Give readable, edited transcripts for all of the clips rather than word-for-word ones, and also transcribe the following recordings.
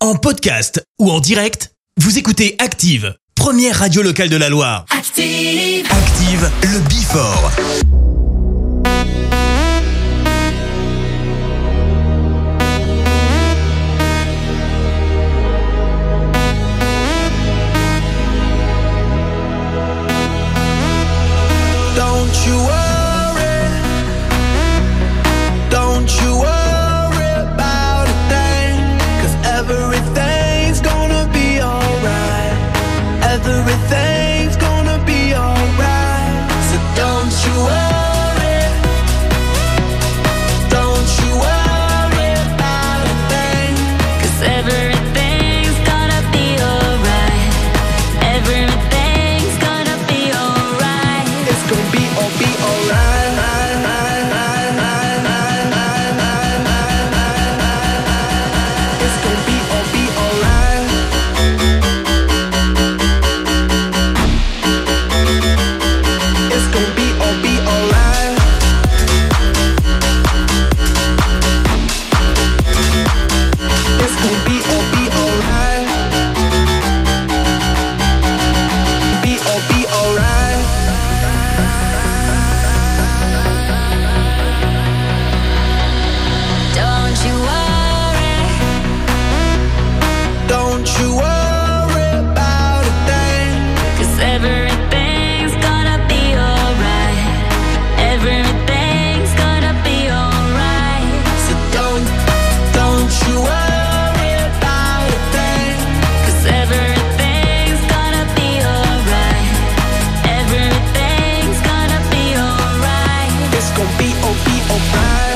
En podcast ou en direct, vous écoutez Active, première radio locale de la Loire. Active, Active, le Before. Don't you worry, don't you worry about a thing, 'cause everything's gonna be alright. Everything's gonna be alright. So don't you worry, don't you worry about a thing, 'cause everything's gonna be alright. Everything's gonna be alright. it's gonna be alright. It's gonna be alright. It's gonna be alright. It's gonna be alright. Be alright. Don't you worry, Don't you worry about a thing. 'cause everything's gonna be alright. Everything's gonna be alright. So don't you worry about a thing. 'Cause everything's gonna be alright. Everything's gonna be alright. It's gonna be alright.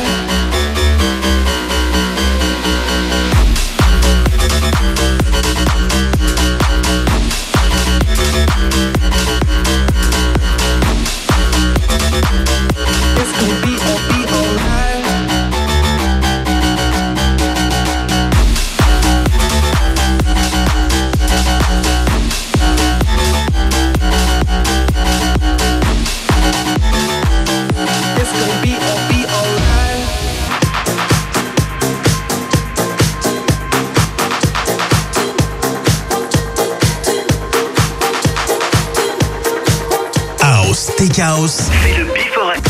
It's gonna be alright. It's gonna be alright. House, Tech House. C'est le Before Active.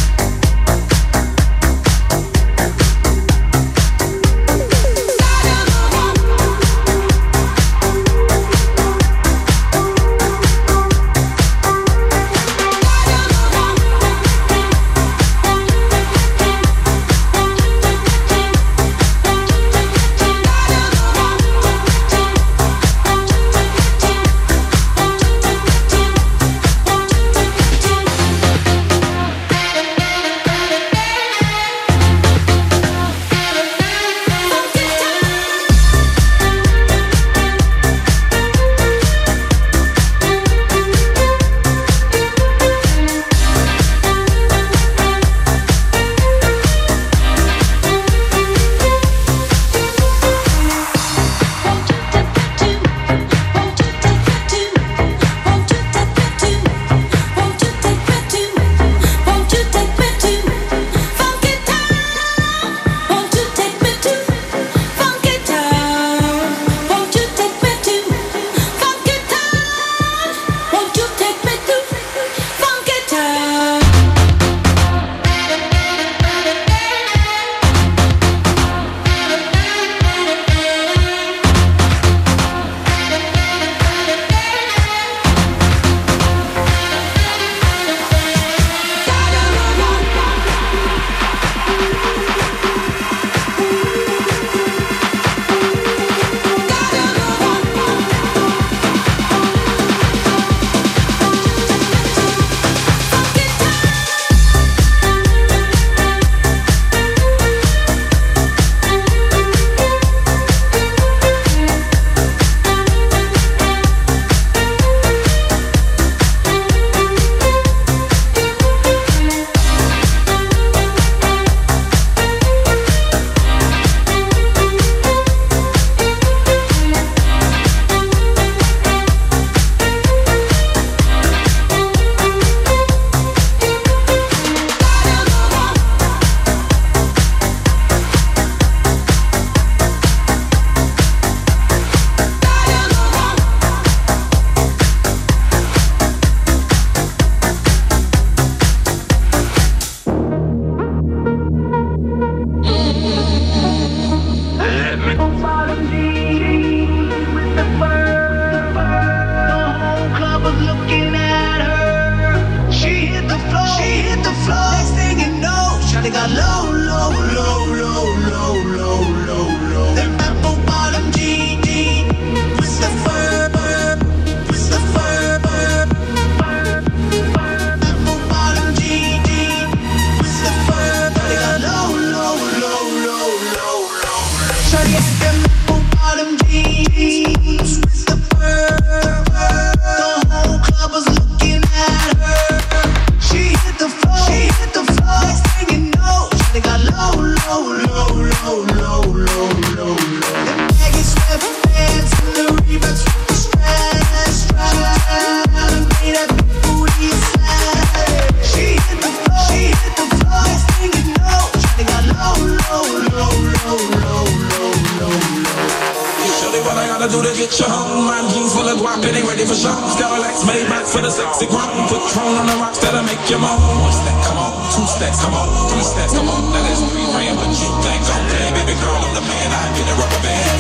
gotta do to get you home? Rhyme jeans full of guap, it ain't ready for show. Cadillacs made back for the sexy grown. Patron on the rocks that'll make you moan. One stack, come on. Two stacks, come on. Three stacks, come on. That is 3 grand, but you think okay, baby girl, I'm the man. I get a rubber band.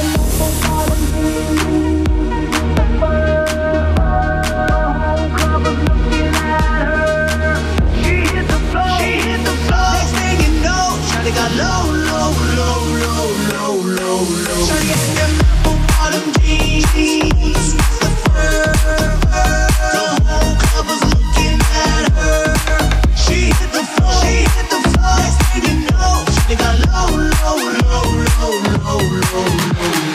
They got low, low, low, low, low, low, low. Shawty got them apple bottom jeans. The whole club was looking at her. She hit the floor, she hit the floor. Next thing you know, they got low, low, low, low, low, low, low.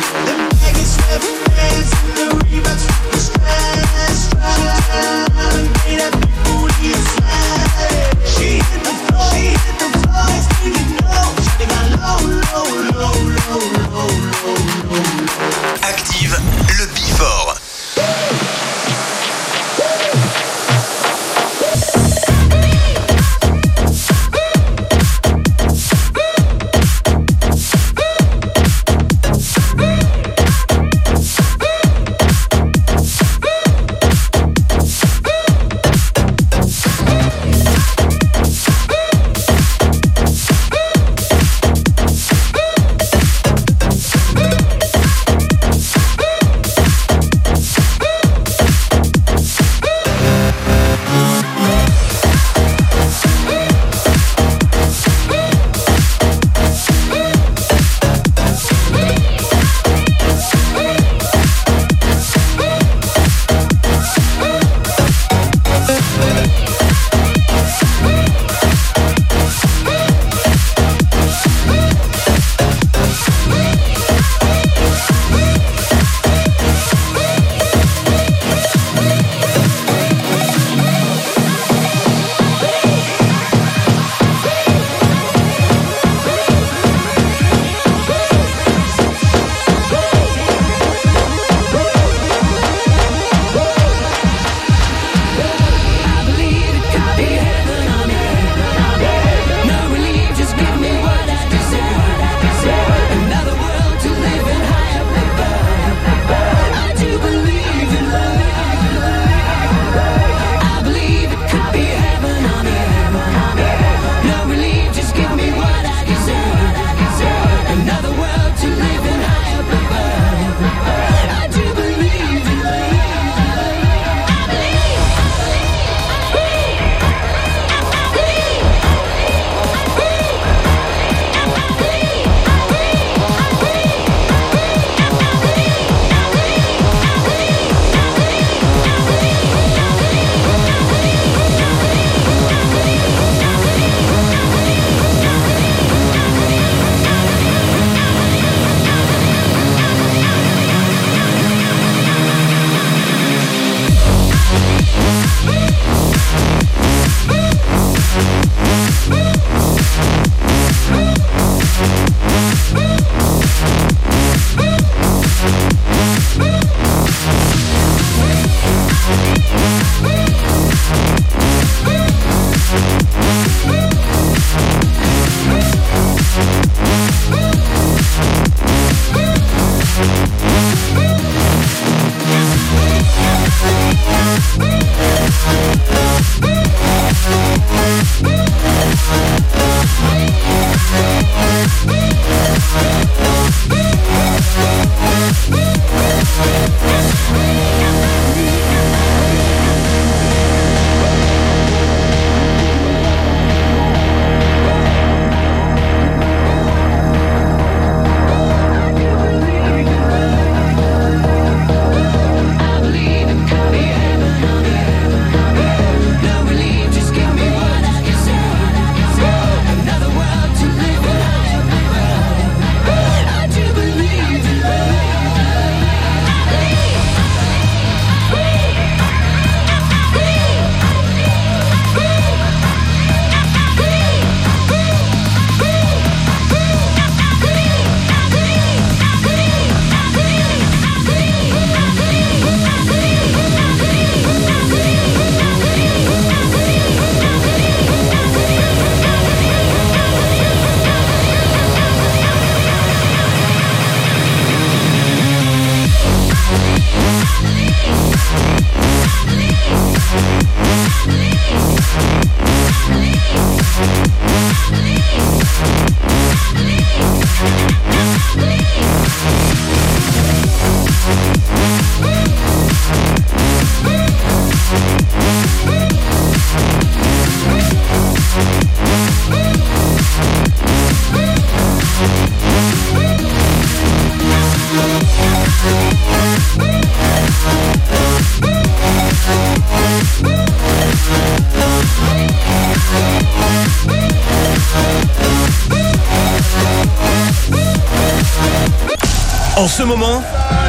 En ce moment,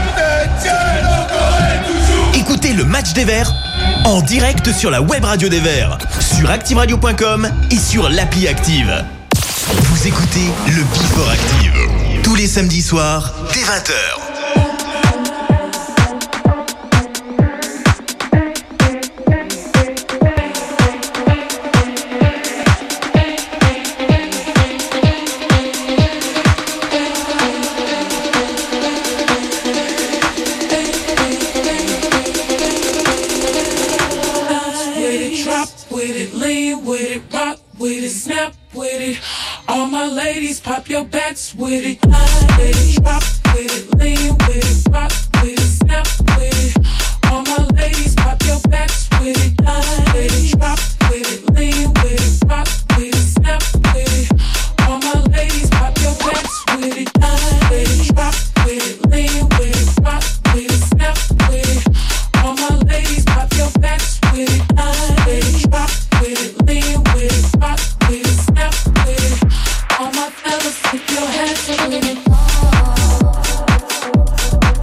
écoutez le match des Verts en direct sur la web radio des Verts, sur activeradio.com et sur l'appli Active. Vous écoutez le Before Active, tous les samedis soirs, dès 20h. All my ladies, pop your backs with it. Slide with it, drop with it, lean with it, rock with it, snap with it. All my ladies, pop your backs with it. Slide with it, drop with it, lean with it, rock with it, snap with it. All my ladies, pop your backs with it. Slide with it, drop with it, lean with it, rock with it, snap with it. All my ladies, pop your backs with it. Slide with it, drop with it, lean with it, rock with it, snap with it. All my fellas, keep your hands with it.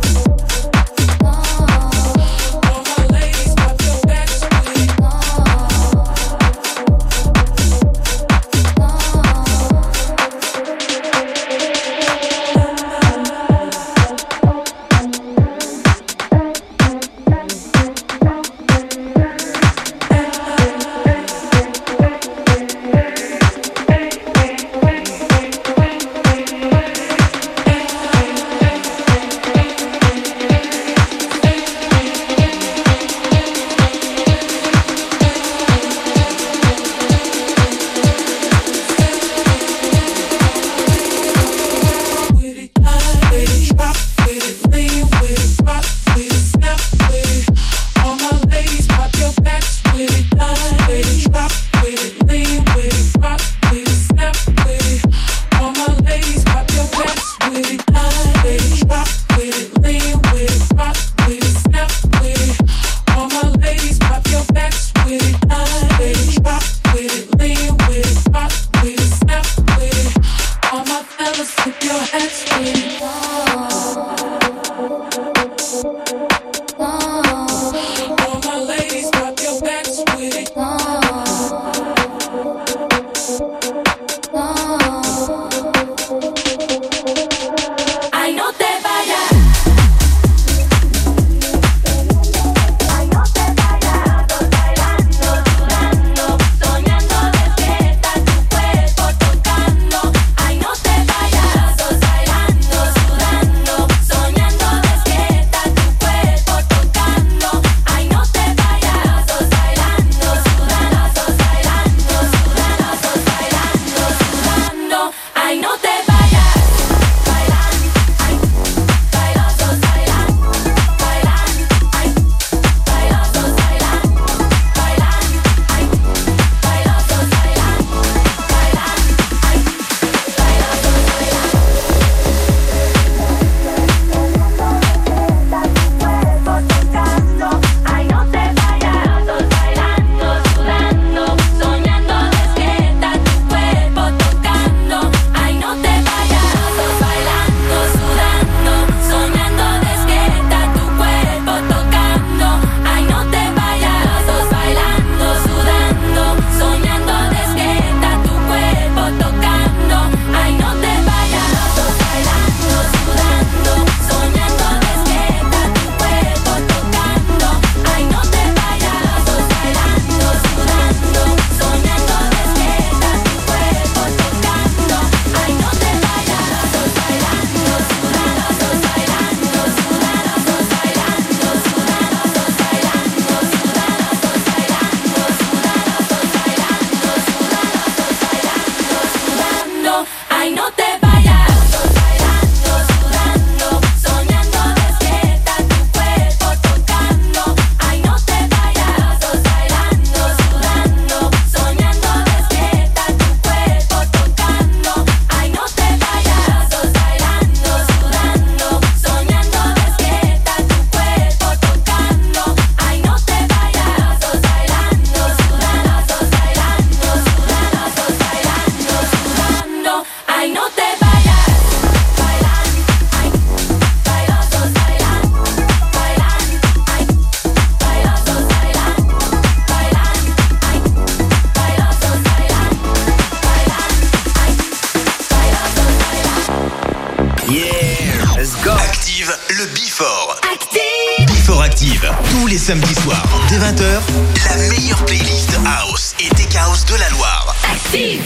le Before. Before Active, tous les samedis soirs, dès 20h, la meilleure playlist House et Tech House de la Loire. Active.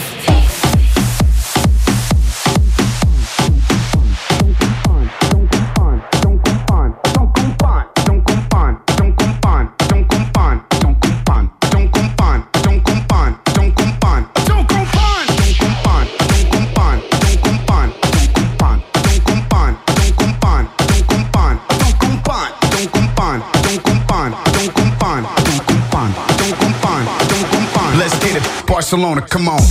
Barcelona, come on.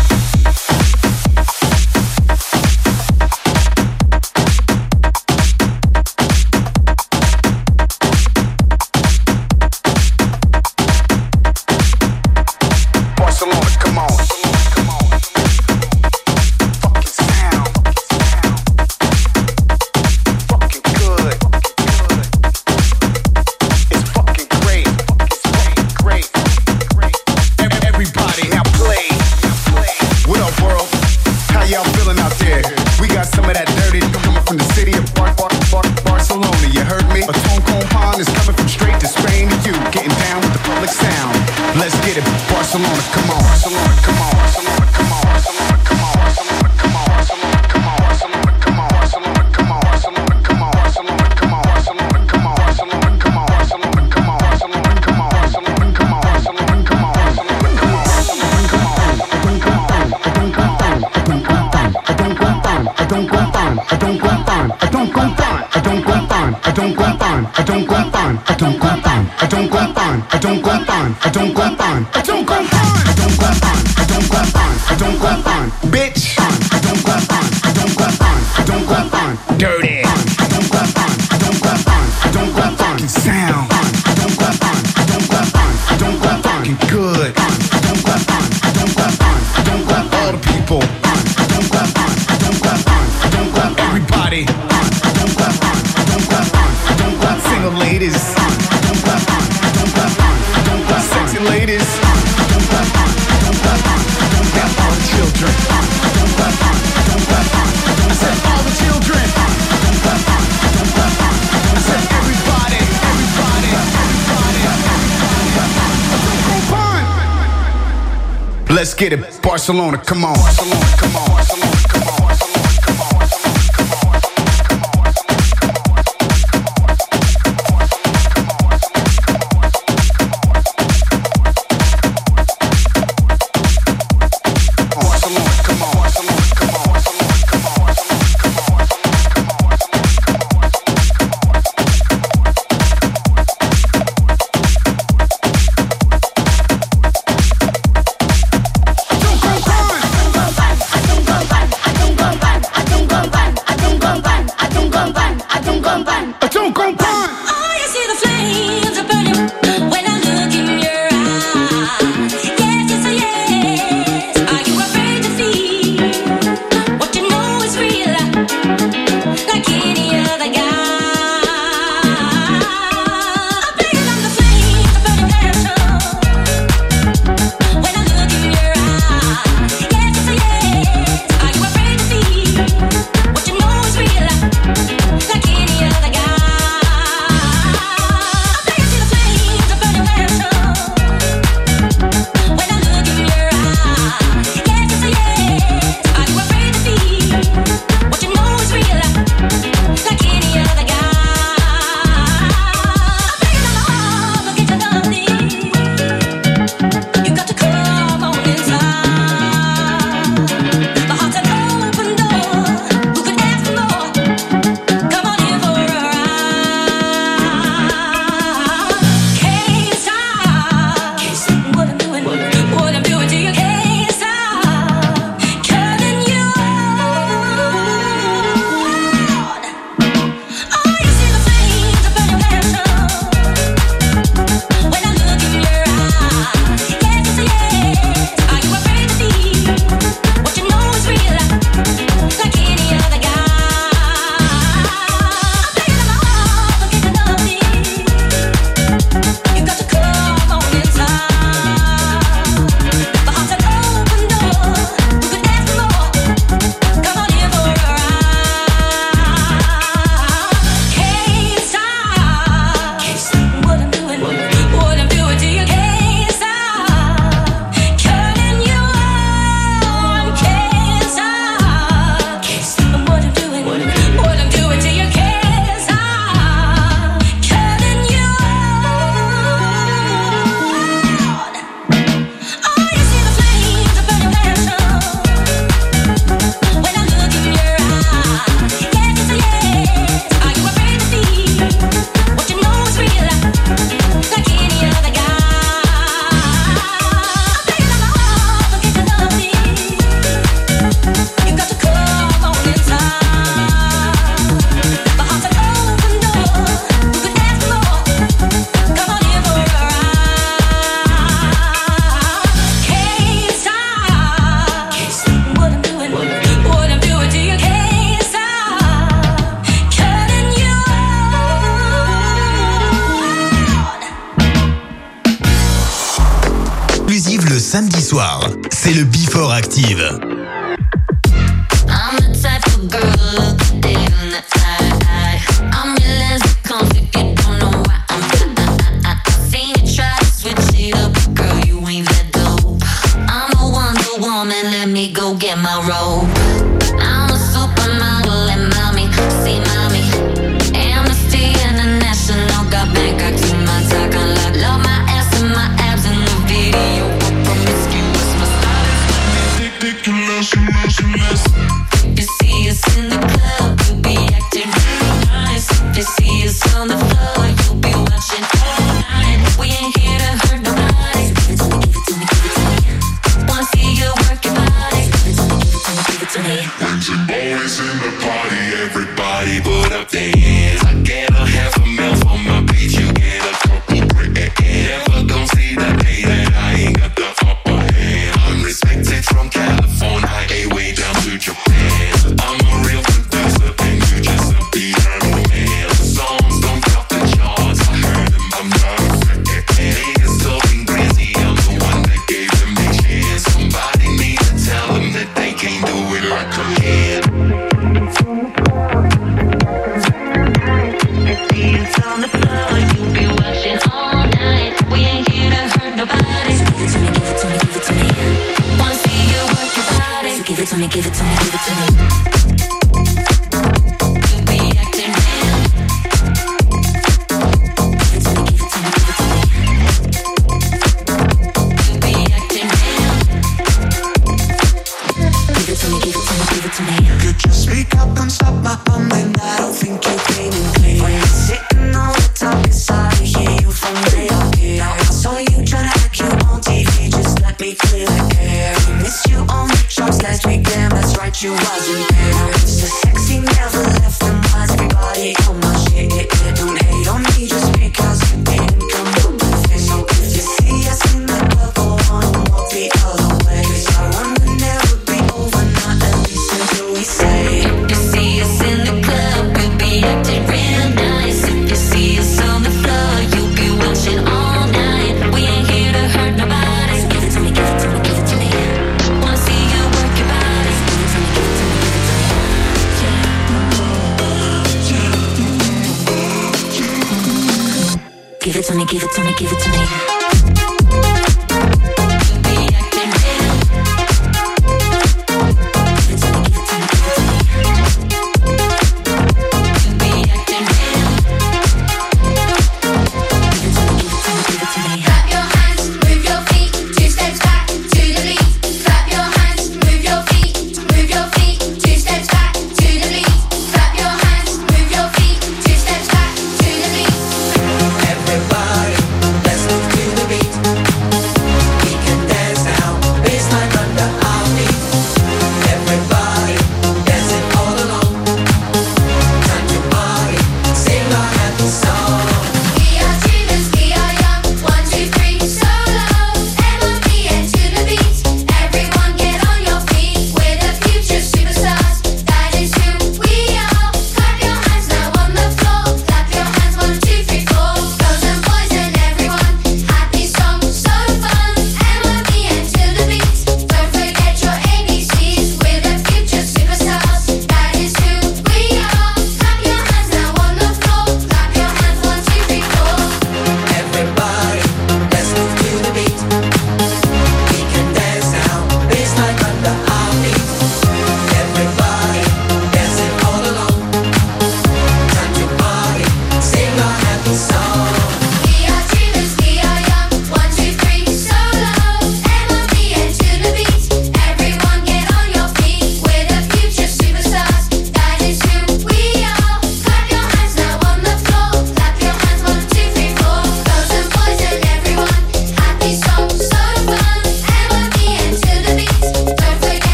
Let's get it, Barcelona, come on. Barcelona, come on. Barcelona, come on. samedi soir. C'est le Before Active. I'm the type of girl look dead in the eye. I'm your lens conflict, you don't know why I seen you try to switch it up, girl, you ain't that dope. I'm a Wonder Woman, let me go get my robe. I'm a supermodel and mommy, see mommy. Amnesty International, got Bangkok to my talk unlock. Love my ass and my abs in the video, promiscuous, my style is ridiculous. If you see us in the club, you'll be acting real nice. If you see us on the floor, you'll be watching all night. We ain't here to hurt nobody. Give it to me, give it to me, give it to me. Wanna see you work your body. Give it to me, give it to me, give it to me. When some boys in the party, everybody put up their hands. I get a half a mil for my beat, you get a couple bricks. Never gon' see the day that I ain't got the upper hand. I'm respected from California, way down to Japan. I'm a real producer and you just a piano man. The songs don't top the charts, I heard them, I'm not a fan. Niggas talking crazy, I'm the one that gave them a chance. Somebody need to tell them that they can't do it like I can. It's on the floor, you'll be watching all night. We ain't here to hurt nobody. Give it to me, give it to me, give it to me. Wanna see you work your body. So give it to me, give it to me, give it to me. You'll be acting real. Give it to me, give it to me, give it to me. You'll be acting real. Give it to me, give it to me, give it to me. You could just speak up and stop my bum, and I don't think you came in clear. When you're sitting on the top, it's hard to hear you from way up here. Now I saw you tryna act you on TV, just let me clear the air. We missed you on the charts last week, damn, that's right, you wasn't there. Now it's the sexy never left them minds, everybody on my shit, yeah. Don't hate on me just because you didn't come up with it. So if you see us in the club, go on and walk the other way. 'Cause our run will never be over, not at least until we say. If you see us in the club, we'll be acting real nice. If you see us on the floor, you'll be watching all night. We ain't here to hurt nobody. Give it to me, give it to me, give it to me. Wanna see you work your body. Give it to me, give it to me, give it to me. Give it to me, give it to me, give it to me. You'll be acting real. Give it to me, give it to me, give it to me. You'll be acting real. Give it to me, give it to me, give it to me. Clap your hands, move your feet, 2 steps back to the beat. Clap your hands, move your feet, 2 steps back to the beat. Clap your hands, move your feet, 2 steps back to the beat. Everybody, let's move to the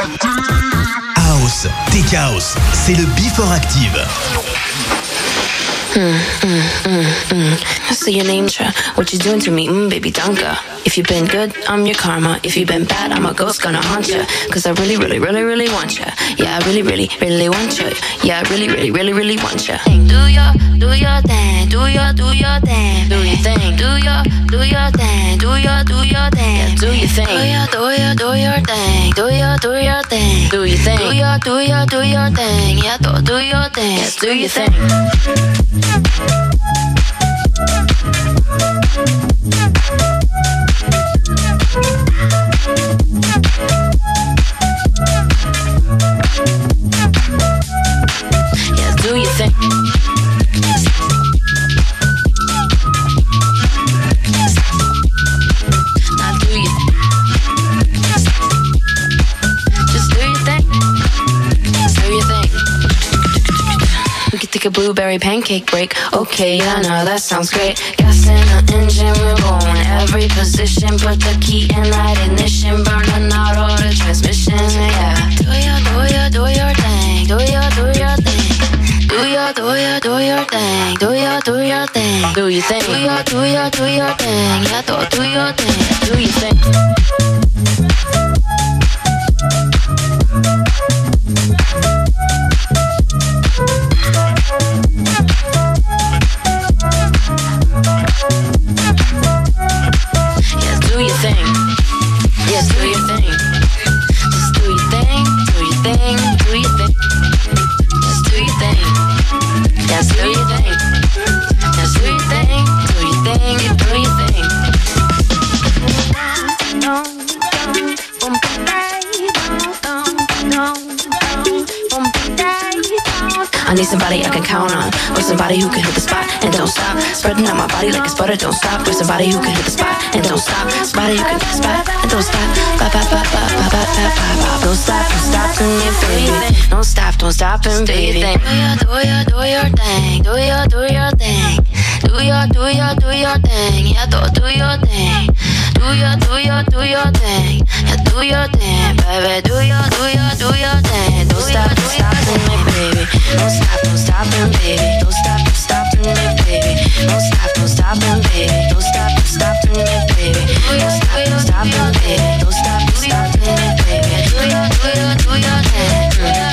House, Tech House, c'est le Before Active. I see your name, try. What you doing to me, baby Donka? If you've been good, I'm your karma. If you've been bad, I'm a ghost gonna haunt ya. Cause I really, really, really, really want ya. Yeah, I really, really, really want ya. Yeah, I really, really, really, really want ya. Do your thing. Do your thing. Do your thing. Do your thing. Do your thing. Do your thing. Yeah, do your thing. Do your thing. Do your thing. Do your thing. Do your thing. Yeah, do your thing. Yeah, do your thing. Yeah, do your thing. Now do your just do your thing. Do your thing. We could take a blueberry pancake break. Okay, yeah, no, that sounds great. Gas in the engine, we're going every position. Put the key in that ignition, burning out all the transmissions. Yeah, do your thing. Do your thing. Do your thing. Do your thing. Do your thing. Do your thing. Do your thing. Yeah, do your thing. Do your thing. Yeah, do your thing. Yes, do your thing. Just do your thing. Do your thing. Do your thing. Just do your thing. Yes, do your thing. Just do your thing. Do your thing. Do your thing. I need somebody I can count on, or somebody who can hit the spot and don't stop. Spreading out my body like it's butter, don't stop. Or somebody who can hit the spot and don't stop. Somebody who can hit the spot and don't stop. Ba ba ba ba ba ba ba ba. Don't stop, baby. Don't stop, baby. Do your thing. Do your thing. Do your thing. Yeah, do your thing. Do your thing. Yeah, do your thing, baby. Do your thing. Don't stop, me, baby. Don't stop, baby. Don't stop, me, baby. Don't stop, baby. Don't stop, me, baby. Don't stop, me, baby. Don't stop, me, baby. Do your thing.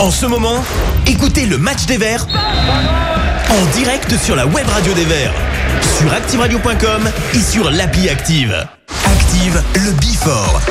En ce moment, écoutez le match des Verts en direct sur la web radio des Verts, sur activeradio.com et sur l'appli Active. Active le Before.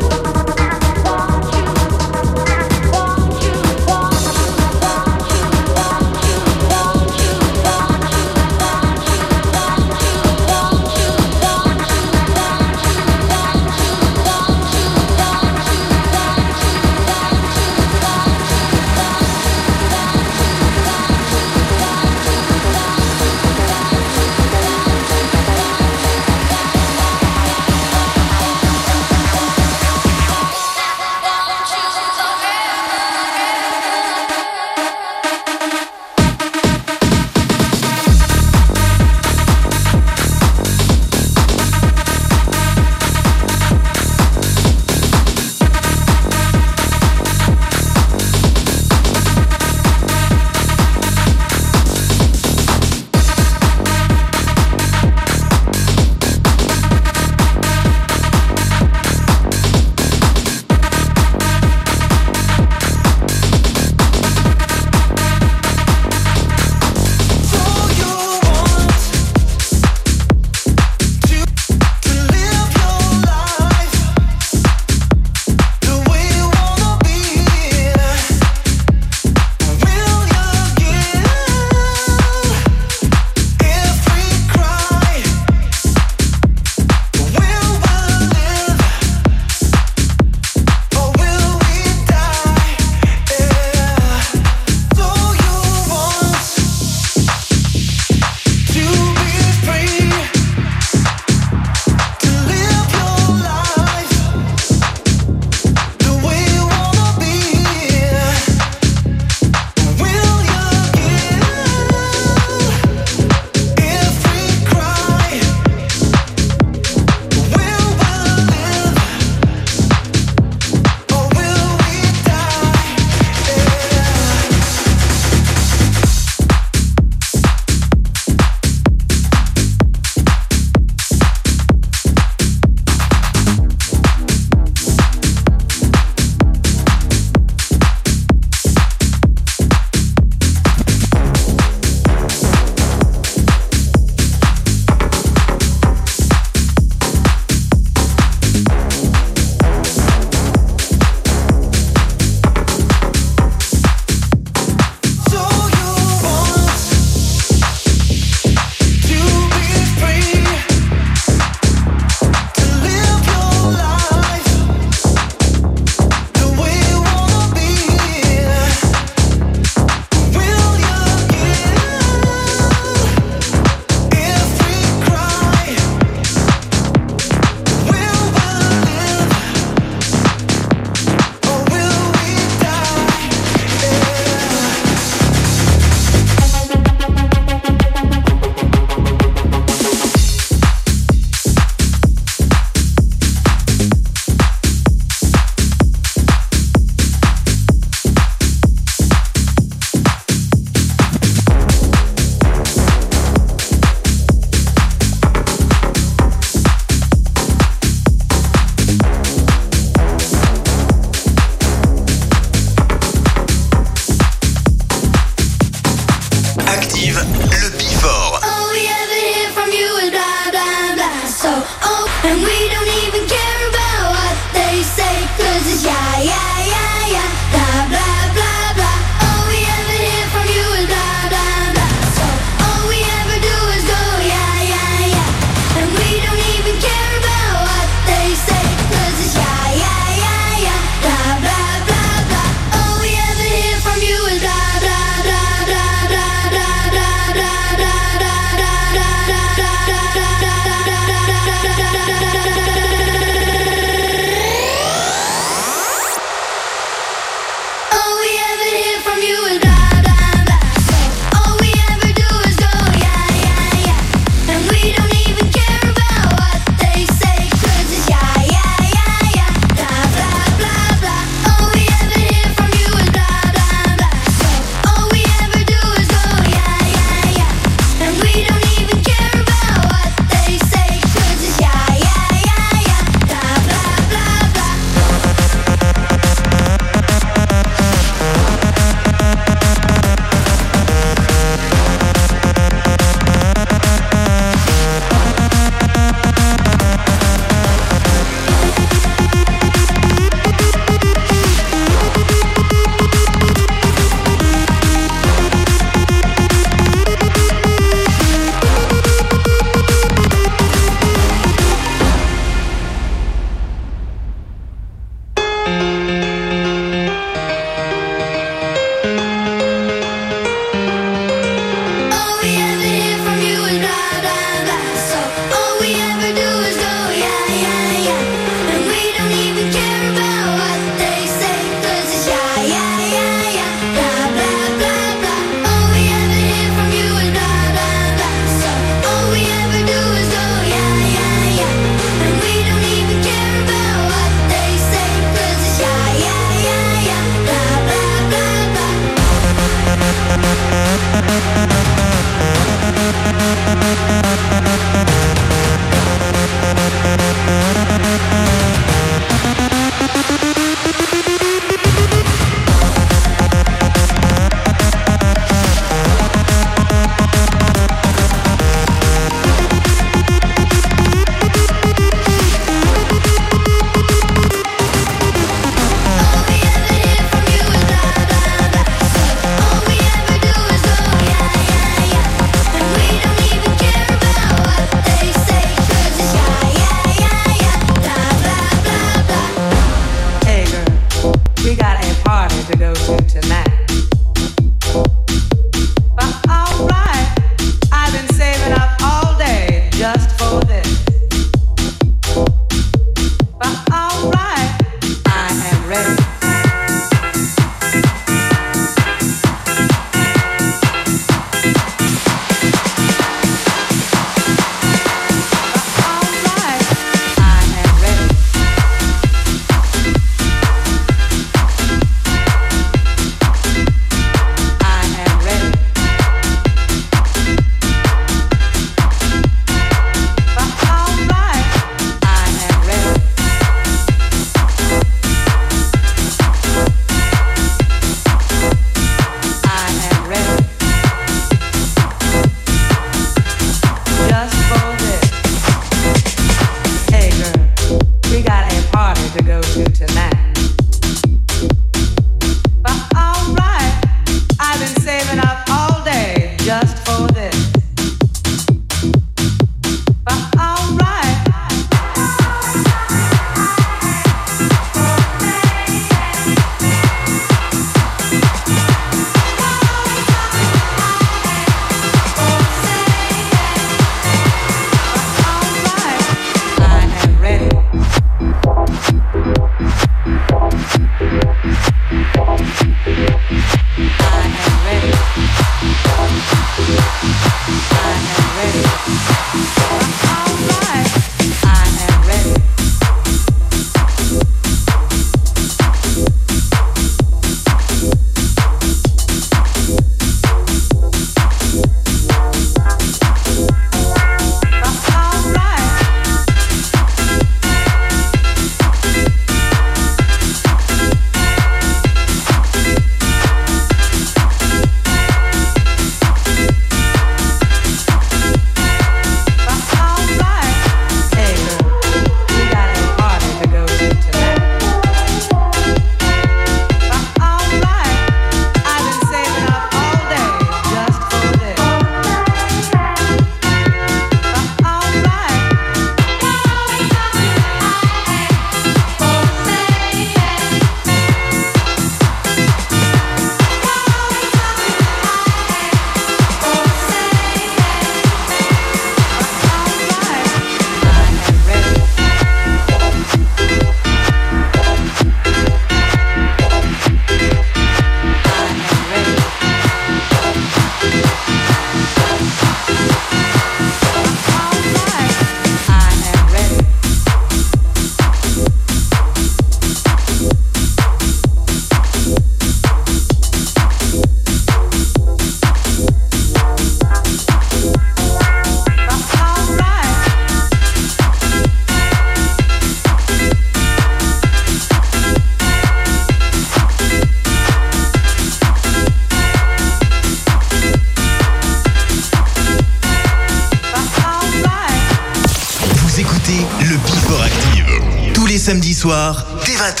soirs, dès 20h.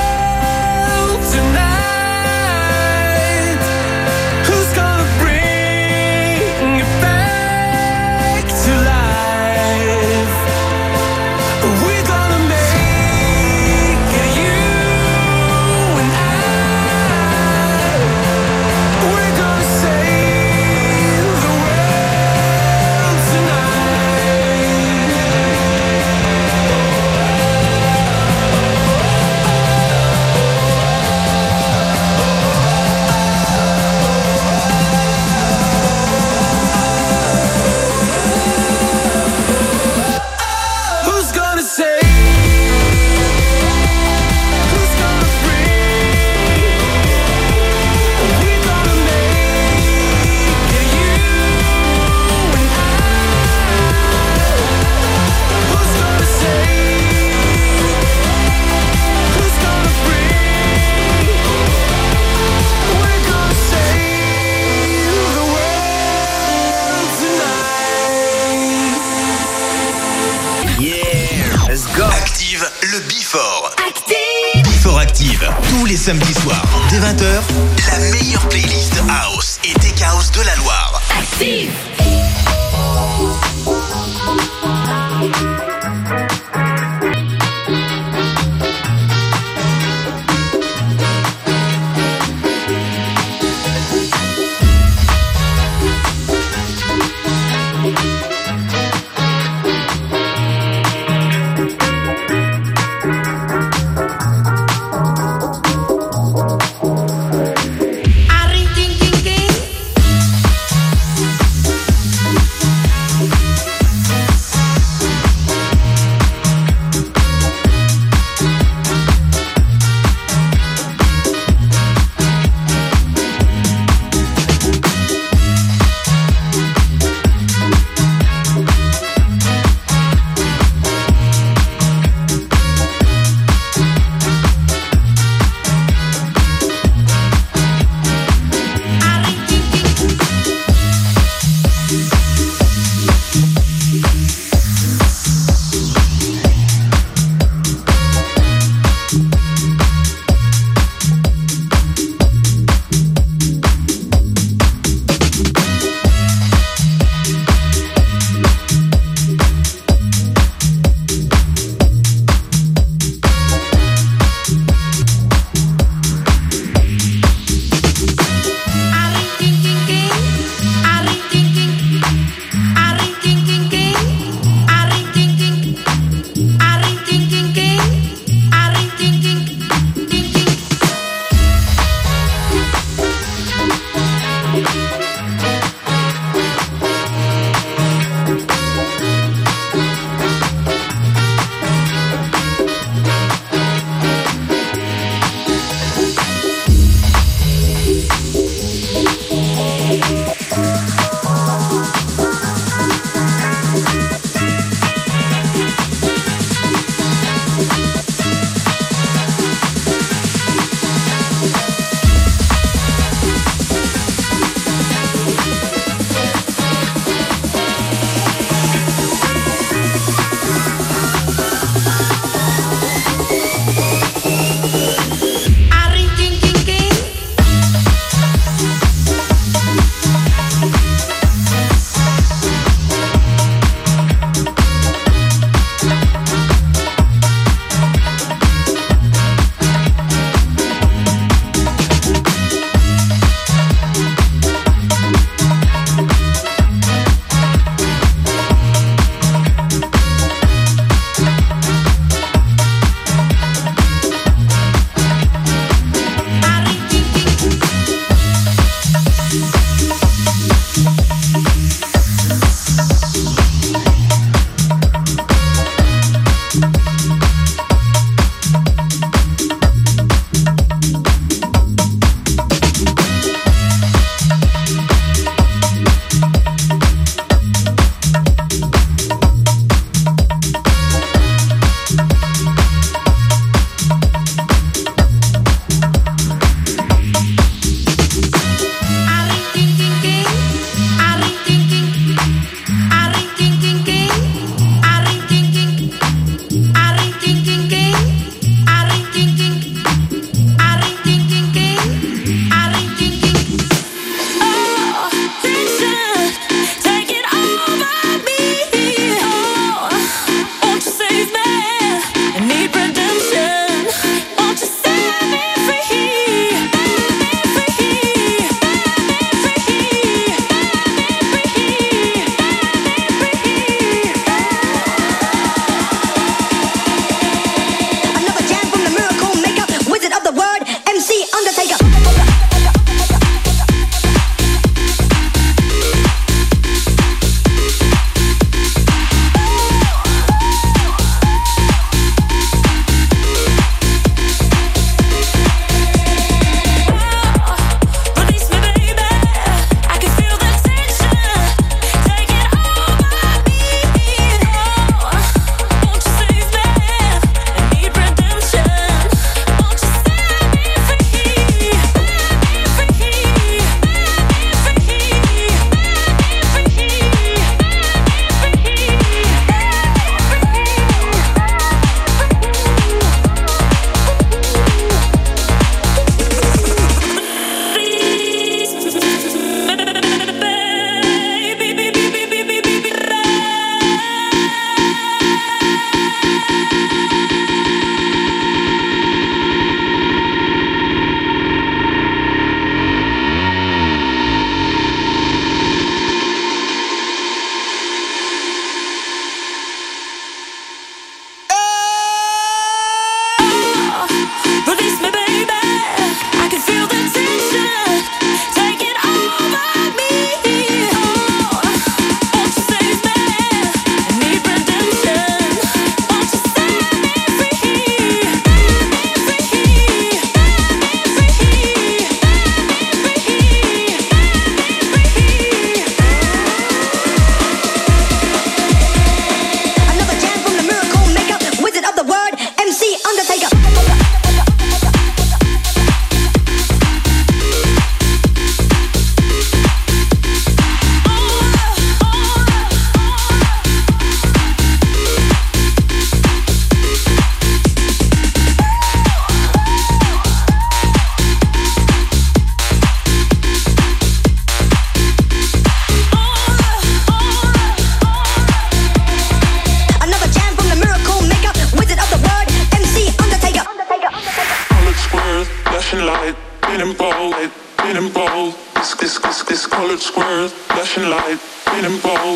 Who's gonna bring le Before. Before Active, tous les samedis soirs, dès 20h, la meilleure playlist House et Tech House de la Loire. Active.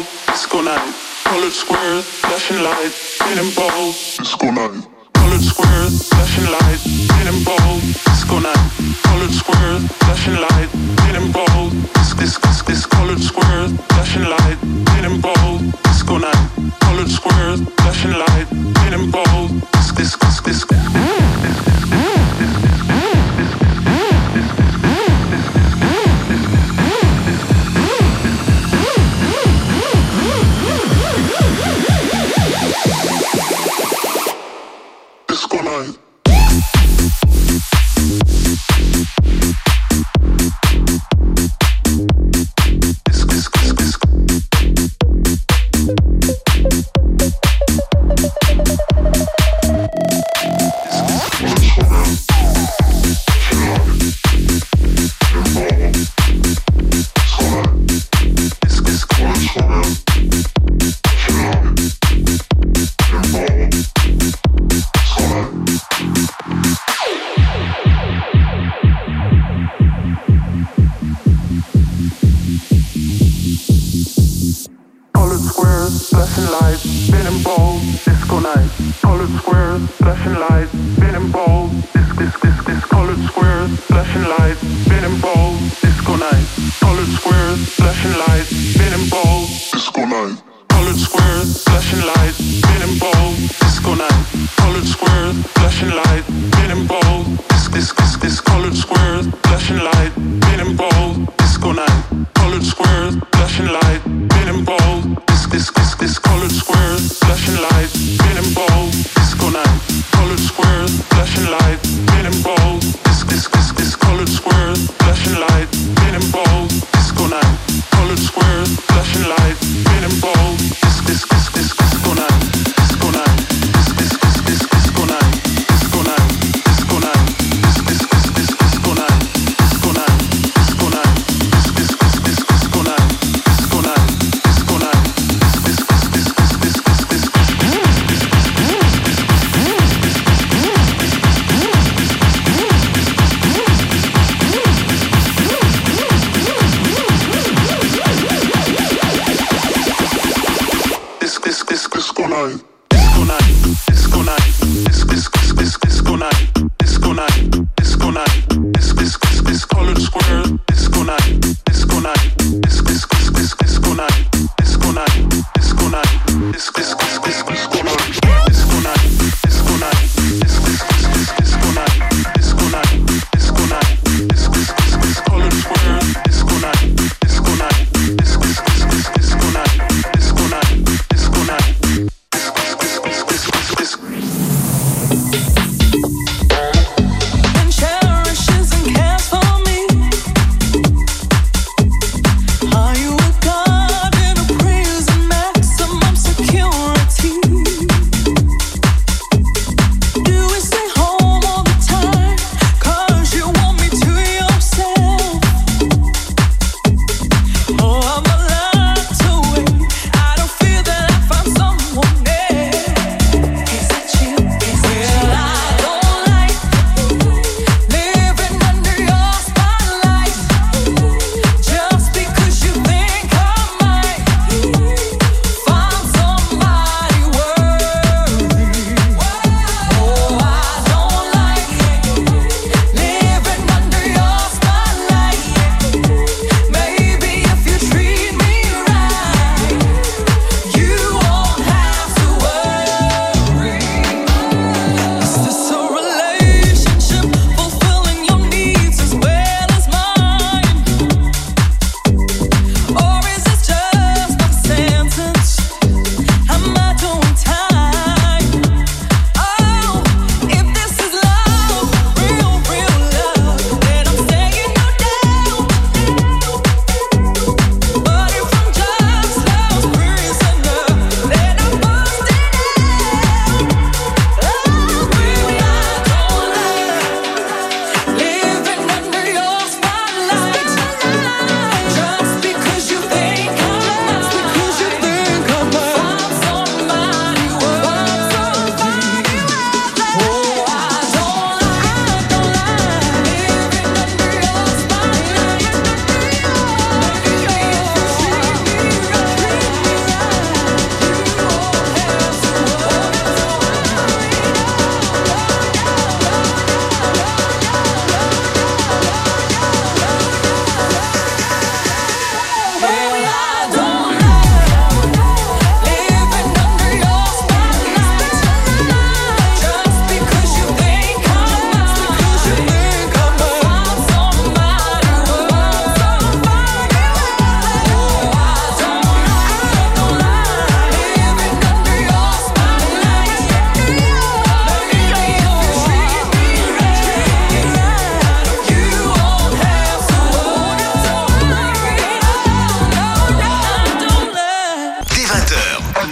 disco night. Colored squares, flashing light, getting bold, disco night. Colored squares, flashing light, getting bold, disco night. Colored squares, flashing light, getting bold, this colored squares, flashing light, getting bold, disco night. Colored squares, flashing light, getting bold, this. Disco night.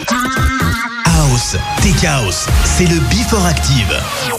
House, Tech House, c'est le Before Active.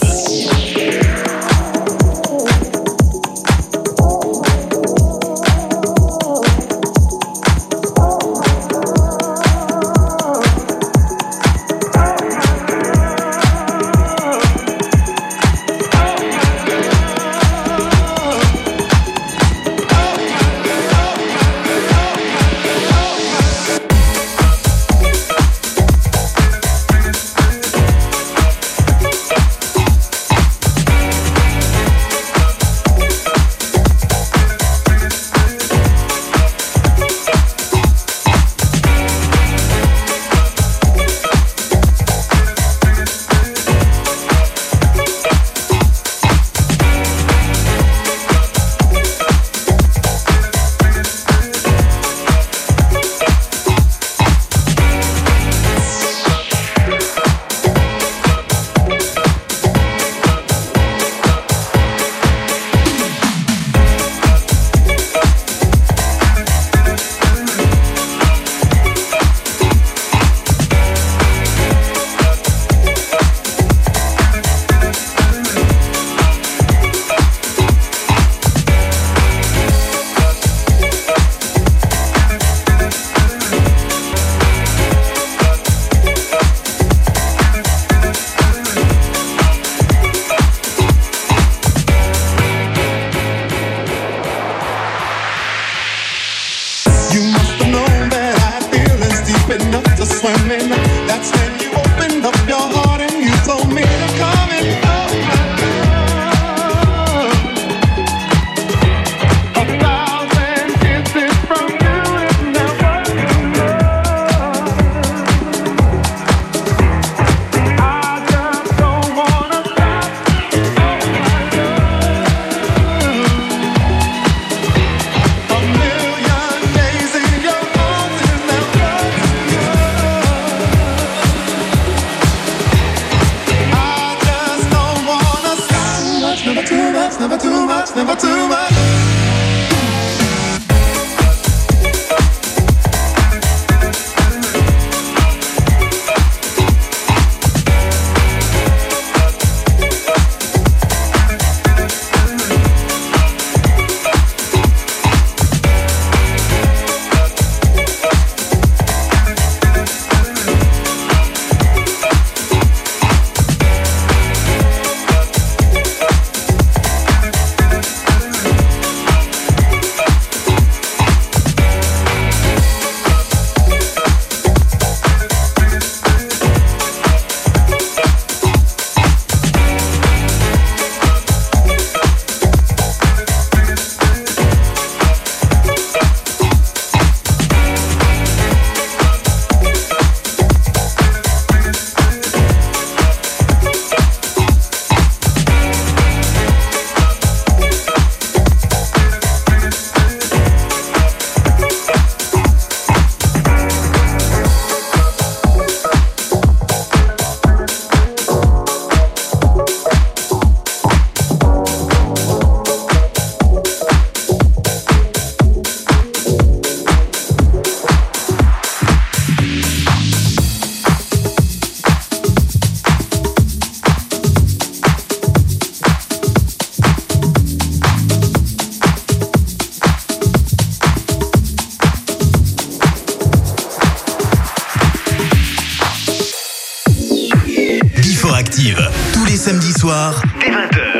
Tous les samedis soirs, dès 20h.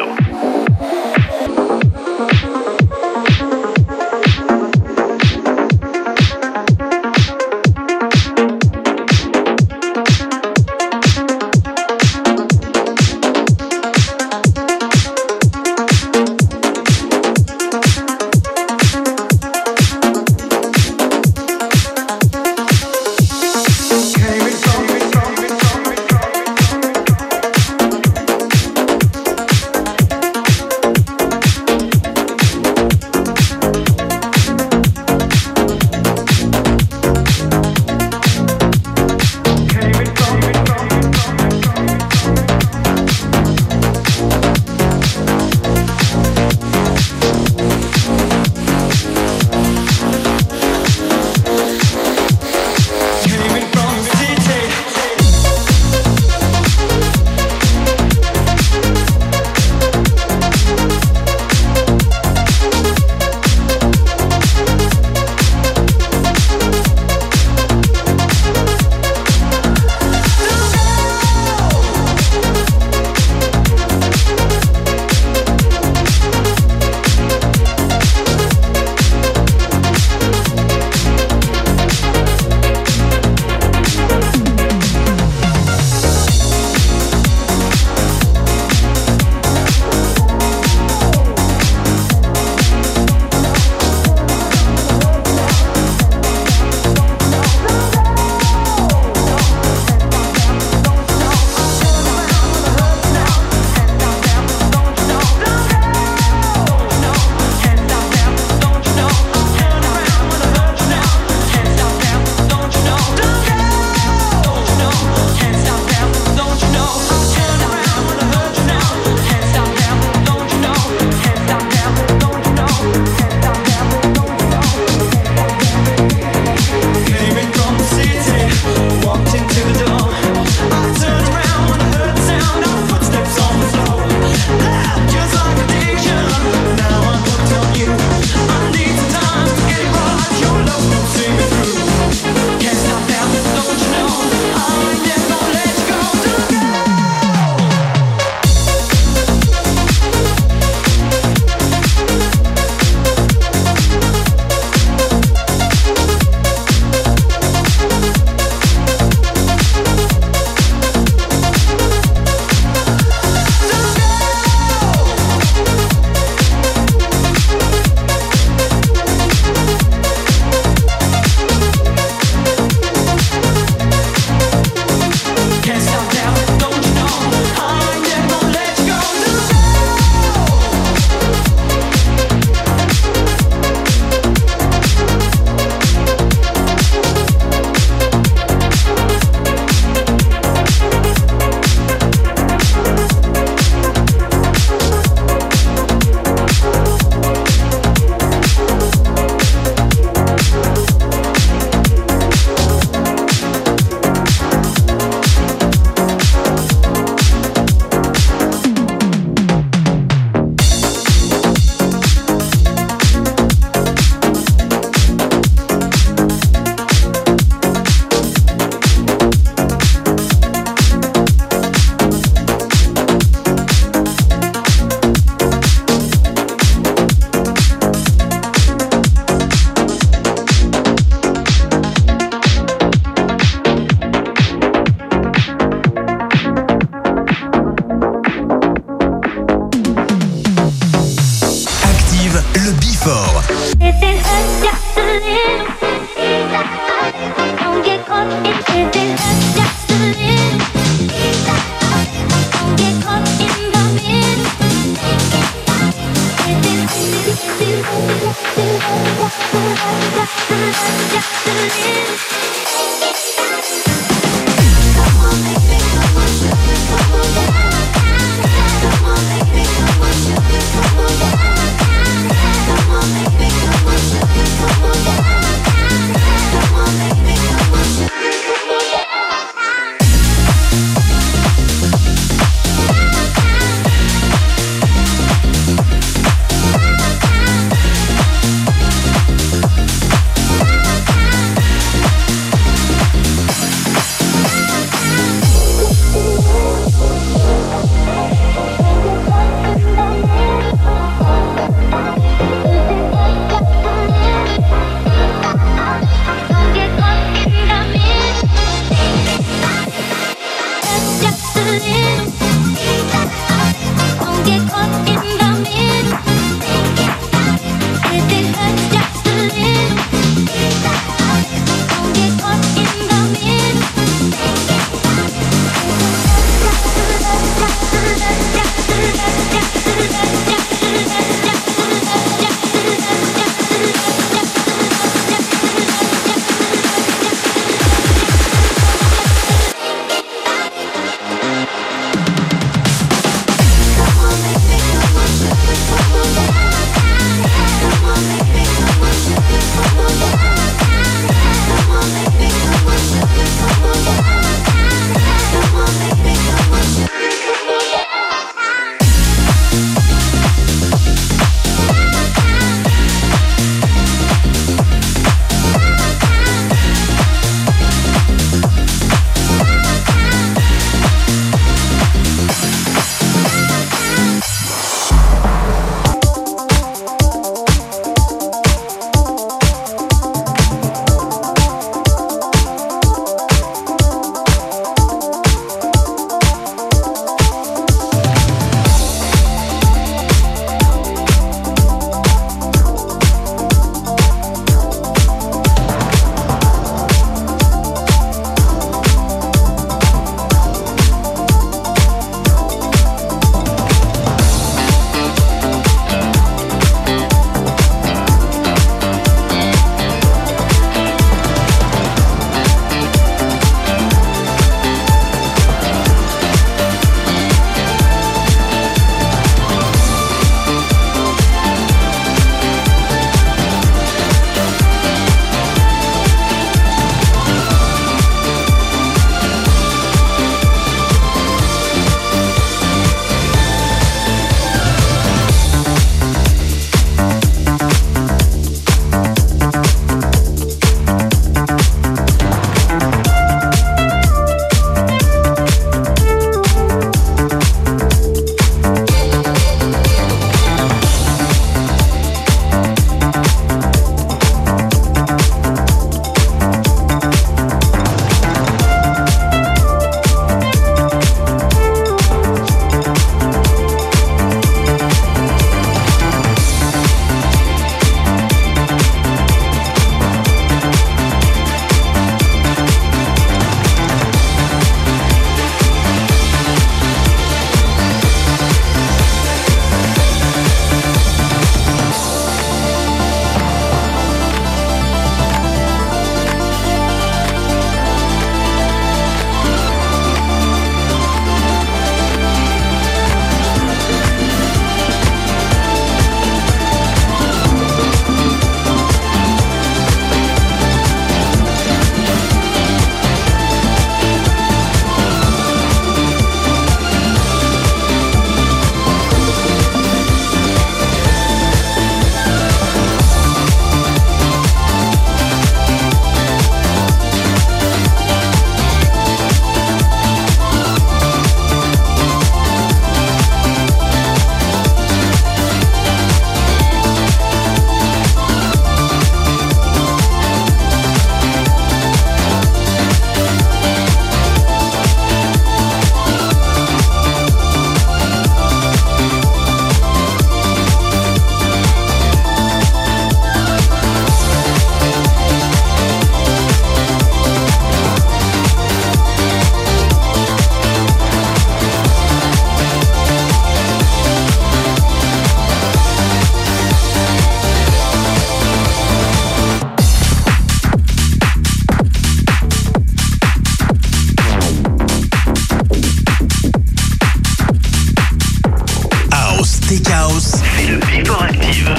Before Active.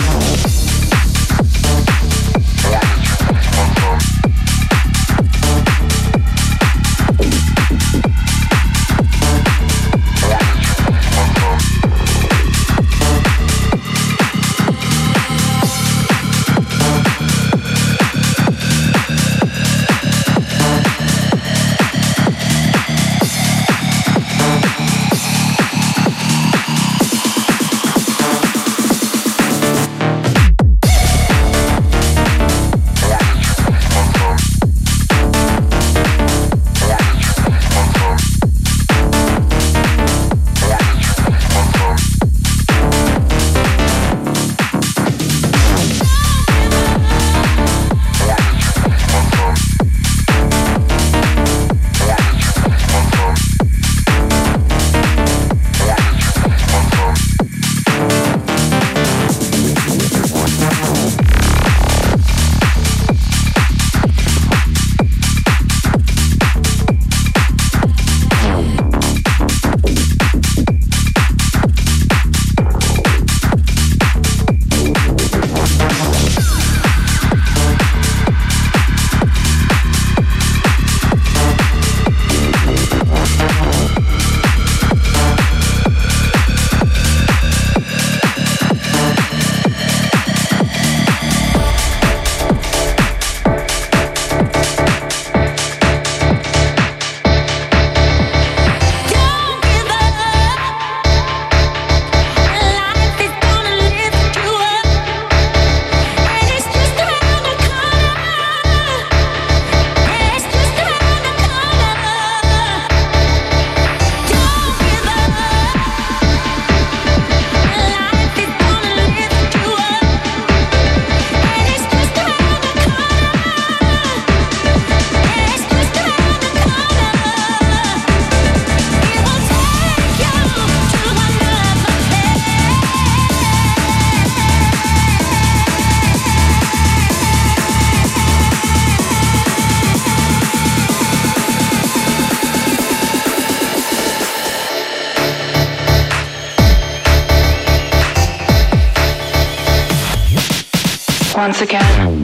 Once again.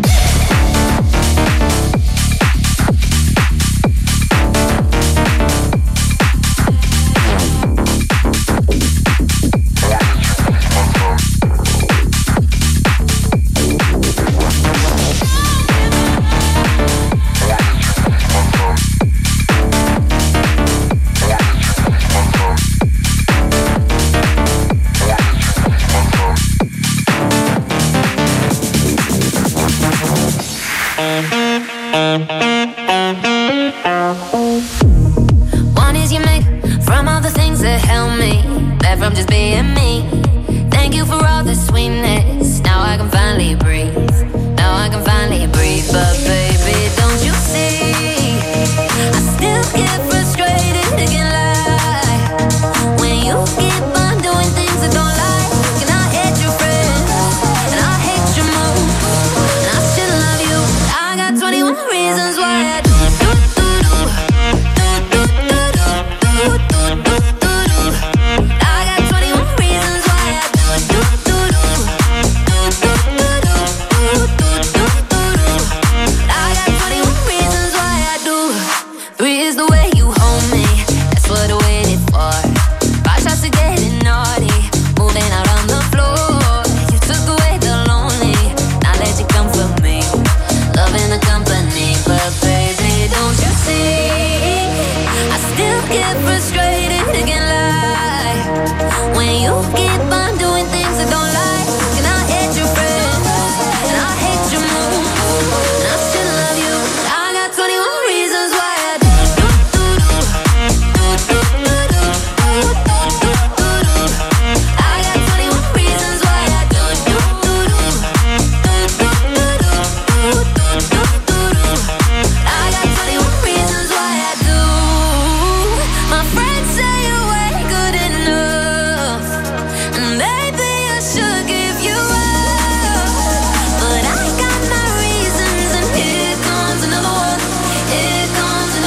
One is you make from all the things that help me, left from just being me. Thank you for all the sweetness. Now I can finally breathe. Now I can finally breathe. But baby, don't you see? I still get frustrated, can't lie. When you keep on doing things I don't like, and I hate your friends, and I hate your moves, and I still love you. I got 21 reasons why I do.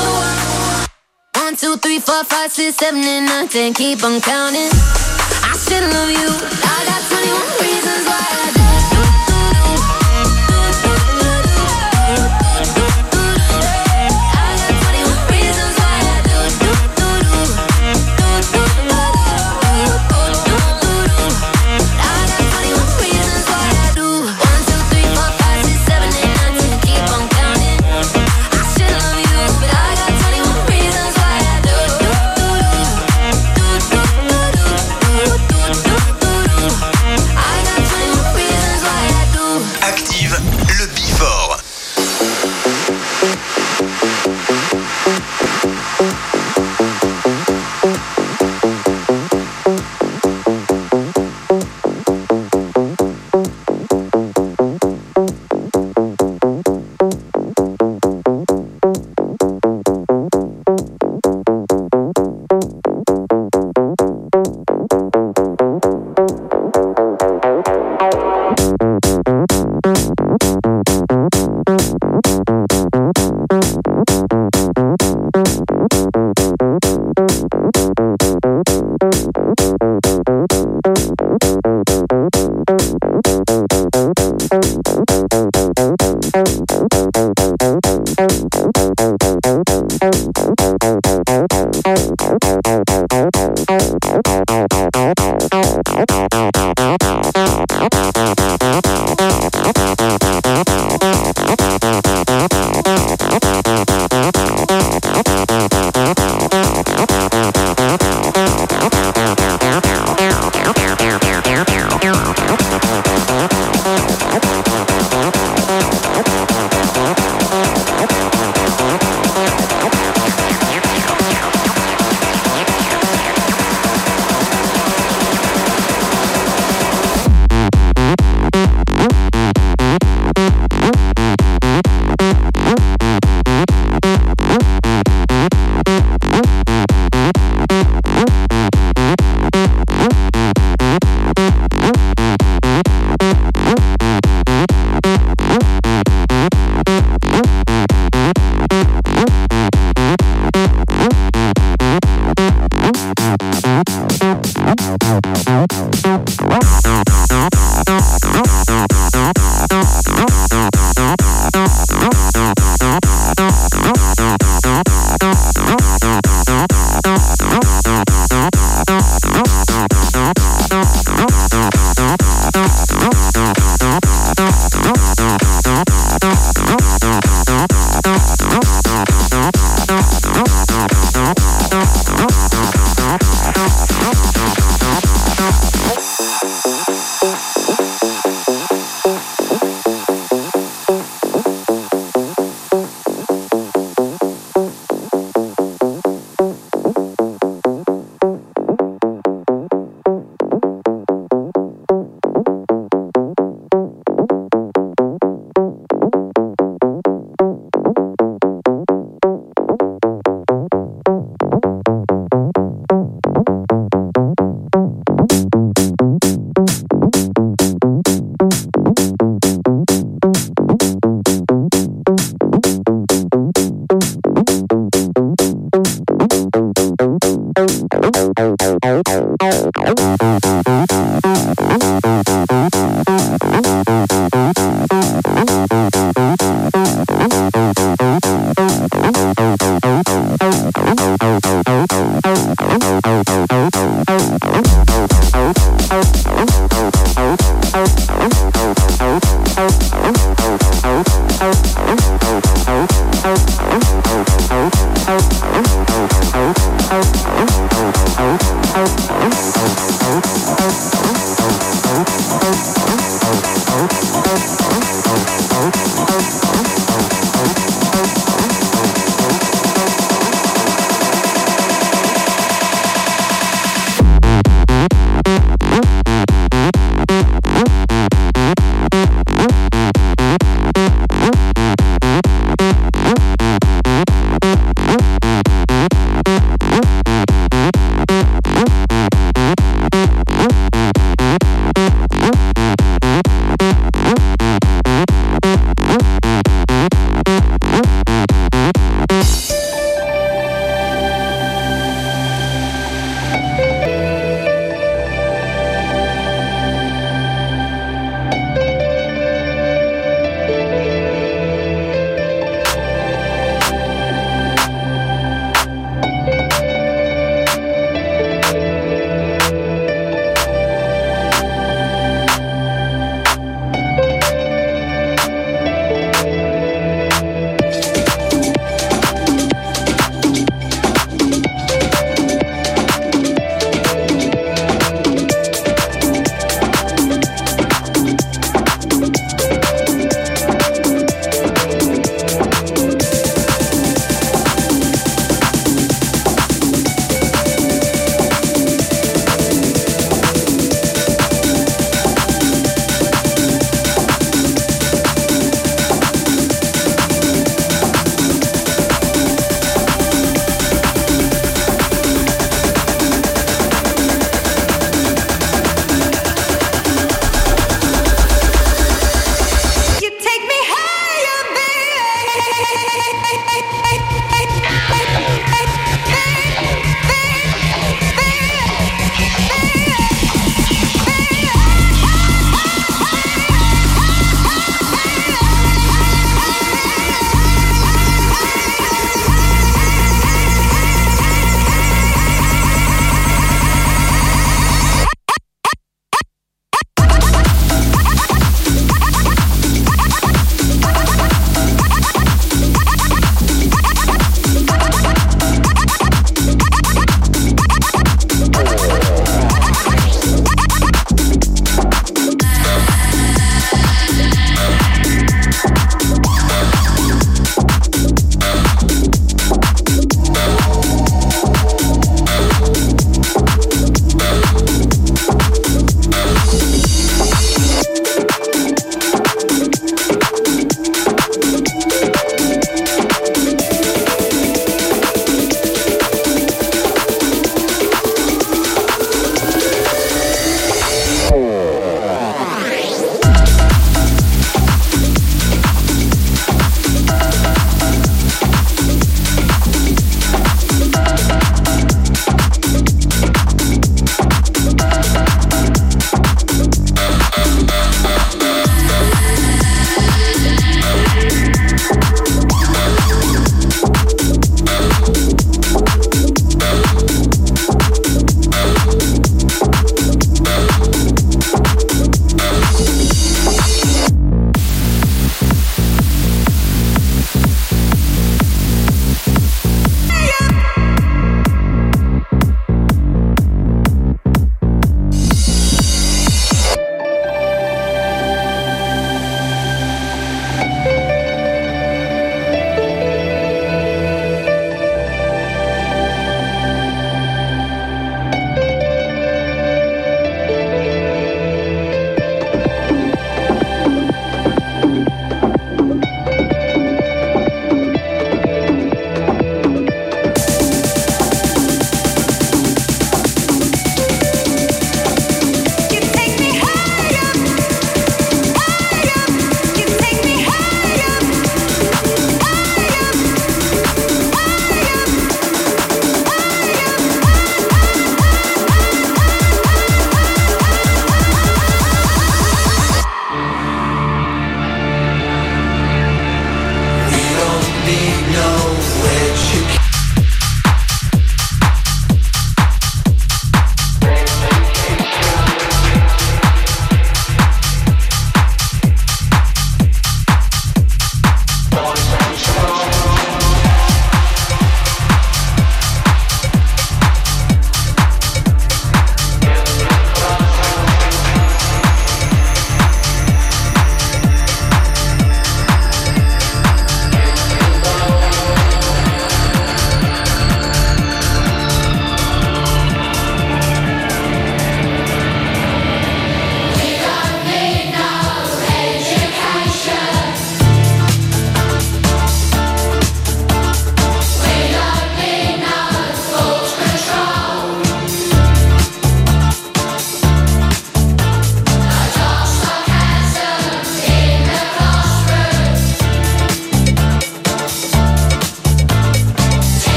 Keep on counting. I should love you. I got 21 reasons why I do. I got 21 reasons why I do. I got 21 reasons why I do. 1, 2, 3, 4, 5, 6, 7, 8, 9, 10. Keep on counting. I should love you, but I got 21 reasons why I do. I got 21 reasons why I do. Active le Before.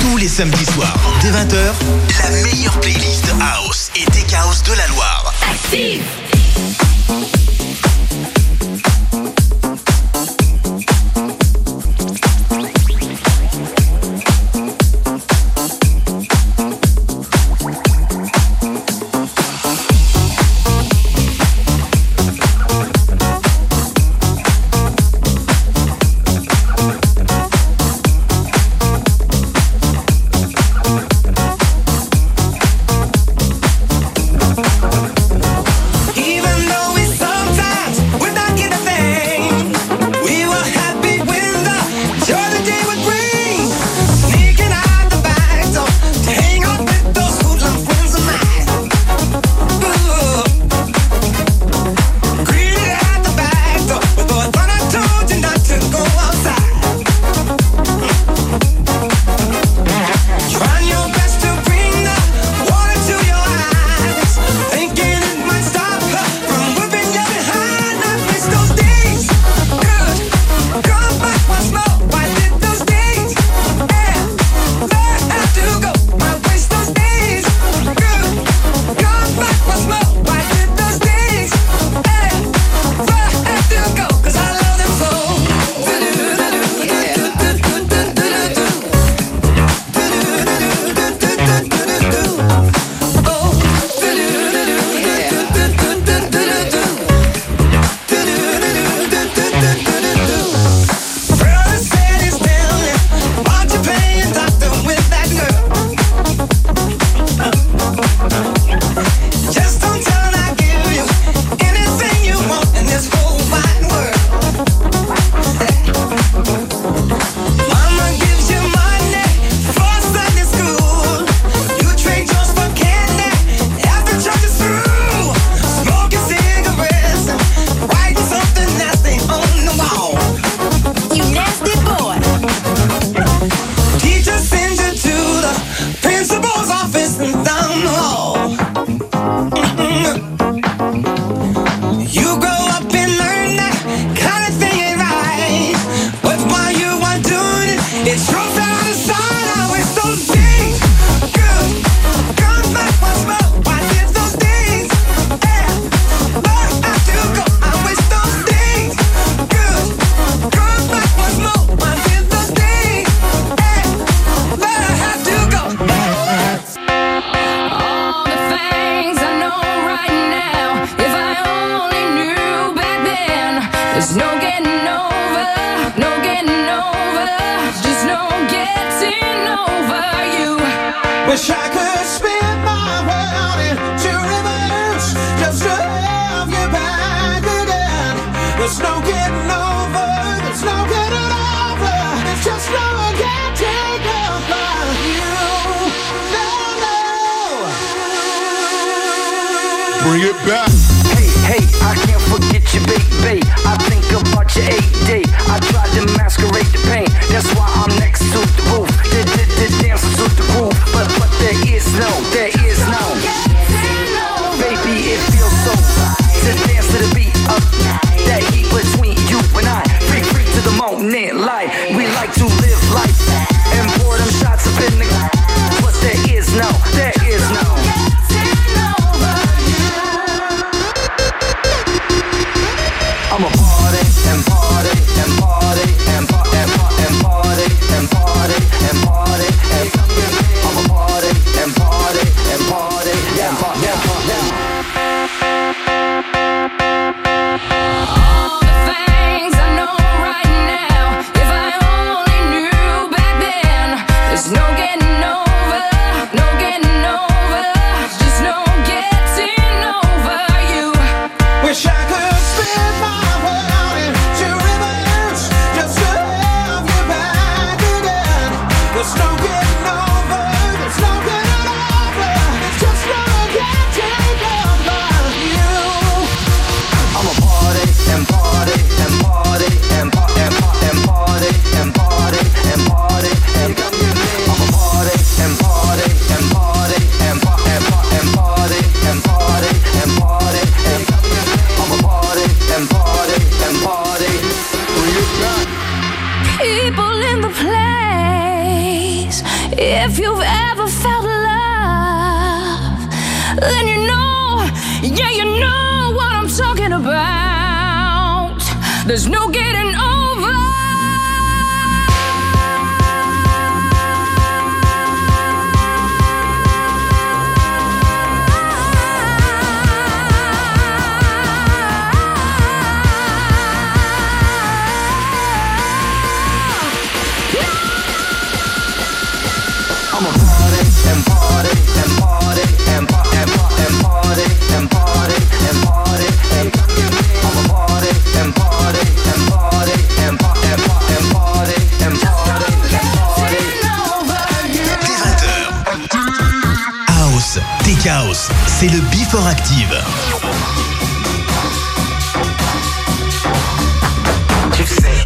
Tous les samedis soirs, dès 20h, la meilleure playlist House et Tech House de la Loire. Active. Wish I could spin my world into reverse just to have you back again. There's no getting over, there's no getting over. It's just no getting over you. No. Bring it back. Hey, I can't forget you, baby. I think about your AD. I tried to masquerade the pain. That's why I'm next to the roof. Dancing to the groove, but there is no. Baby, it feels so right to dance to the beat of that heat between you and I. Free to the moment, light. We like to live life and pour them shots up in the. But there is no. I'm a party and party and party and party and party and party and party and I'm a party and party and party and party and party. All the things I know right now, if I only knew back then, there's no getting over, no getting over, just no getting over you. Wish I could spin my world into reverse just to have you back again. There's no getting over, there's no getting over. It's just no getting over you. I'm a party and party and party and party and party and party and party and I'm a party and party and party and party and party and party and party and I'm a party and party and party. People in the place, If you've ever felt love, then you know, yeah, you know what I'm talking about. There's no getting over. Chaos, c'est le Before Active. Tu sais.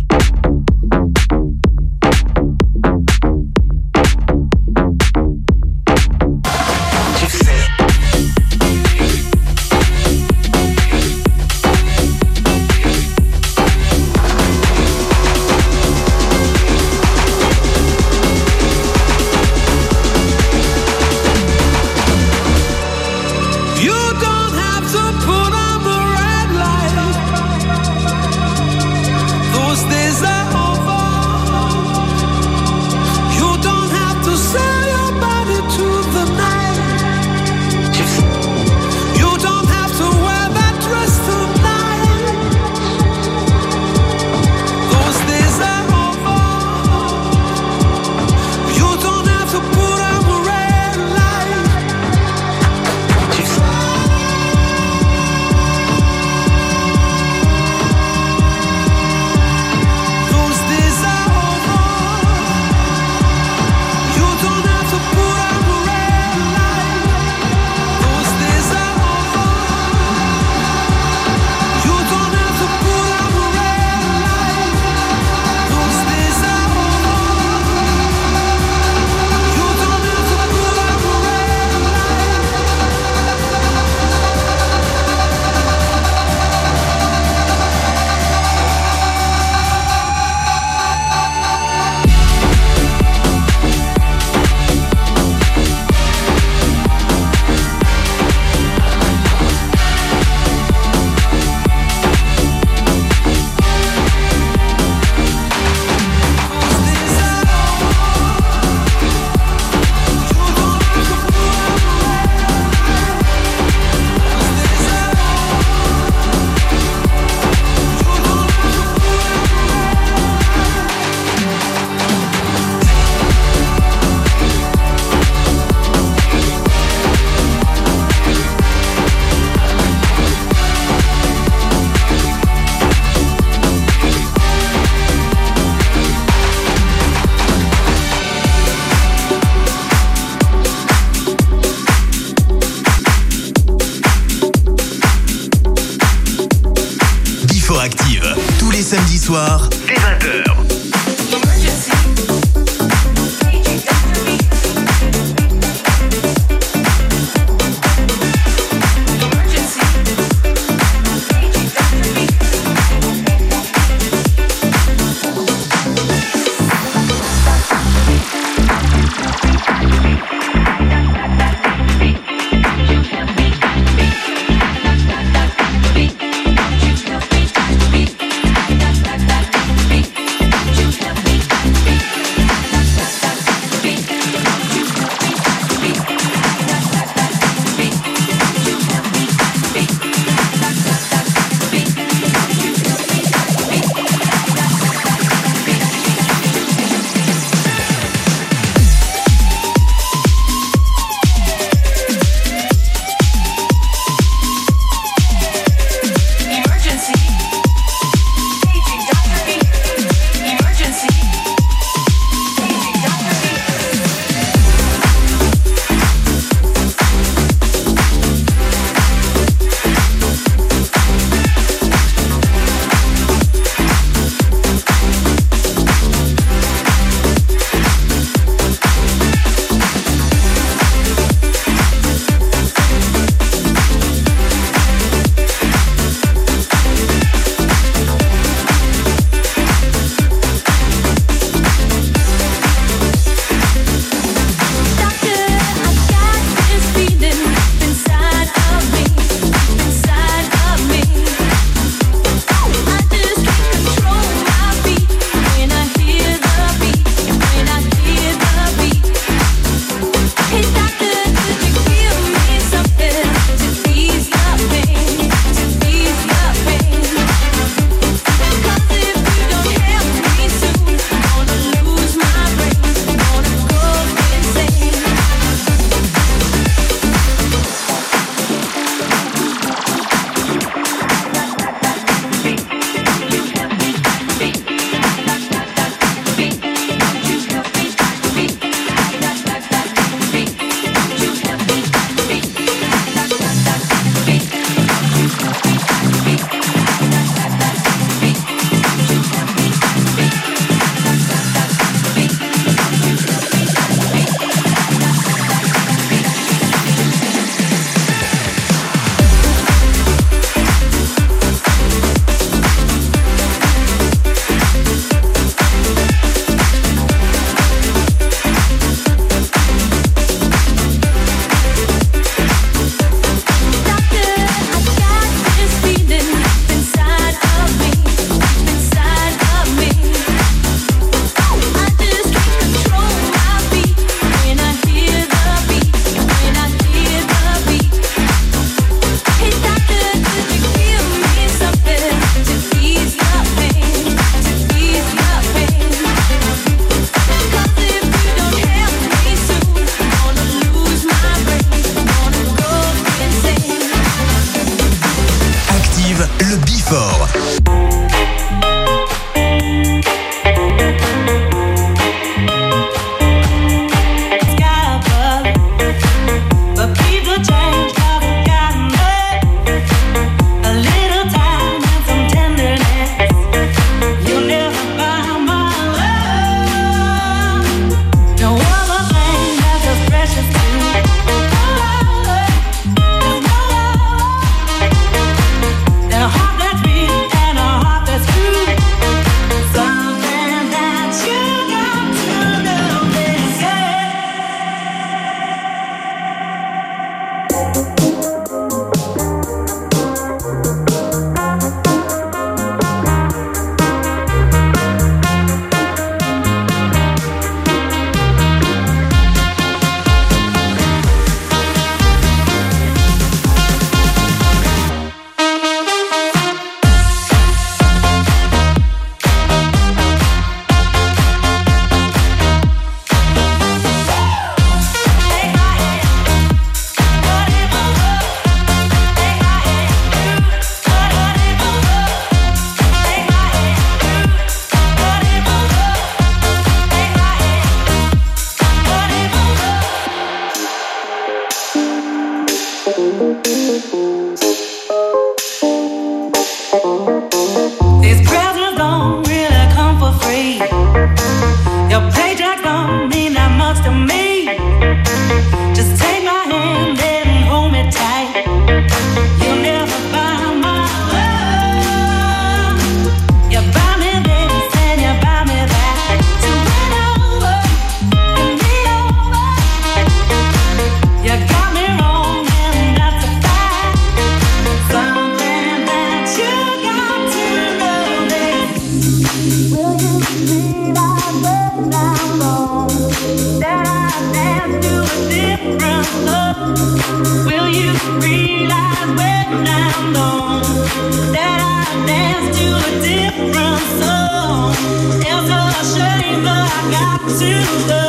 Samedi soir, dès 20h. Will you realize when I'm gone that I dance to a different song? It's a shame, but I got to go.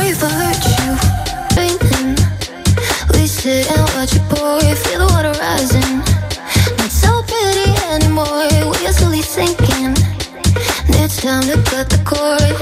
sorry if I hurt you. Raining, we sit and watch it pour. Feel the water rising. Not so pretty anymore. We are slowly sinking. It's time to cut the cord.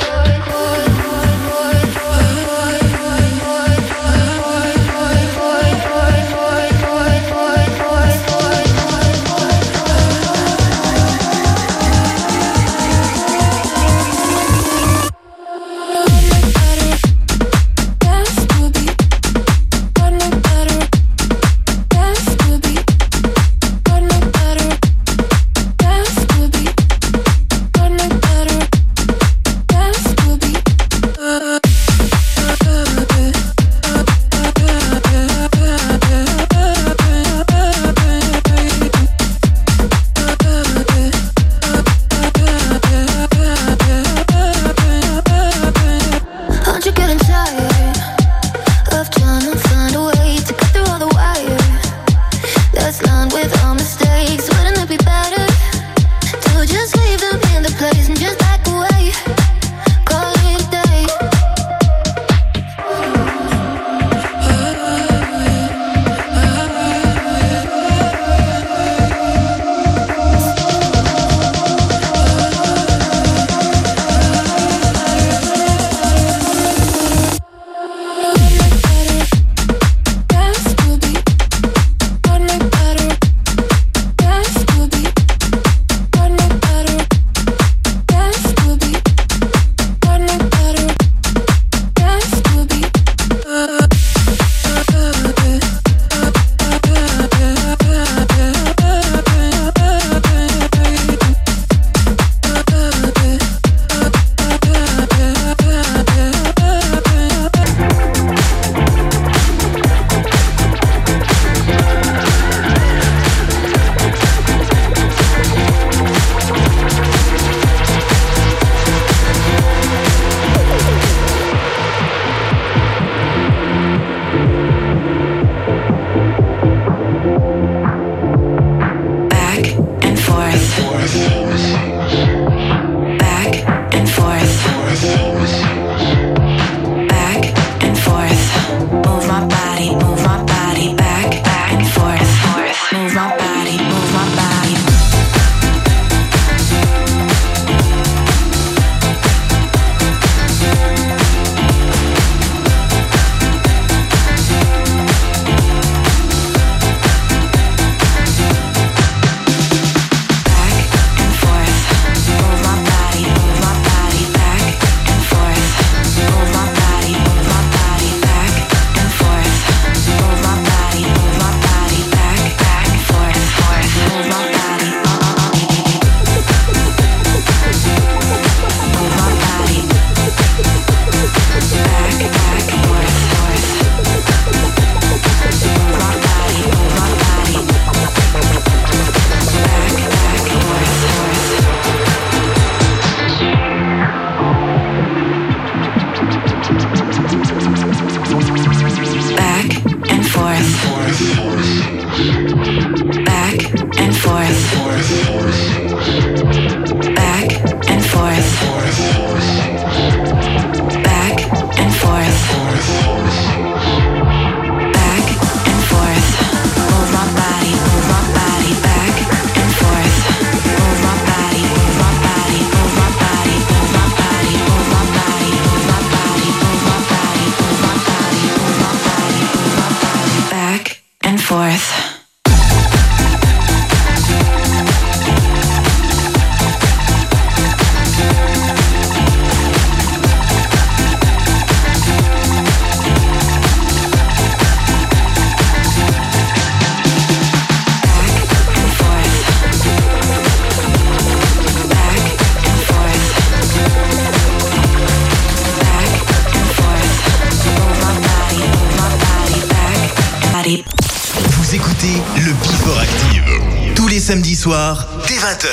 Samedi soir, dès 20h.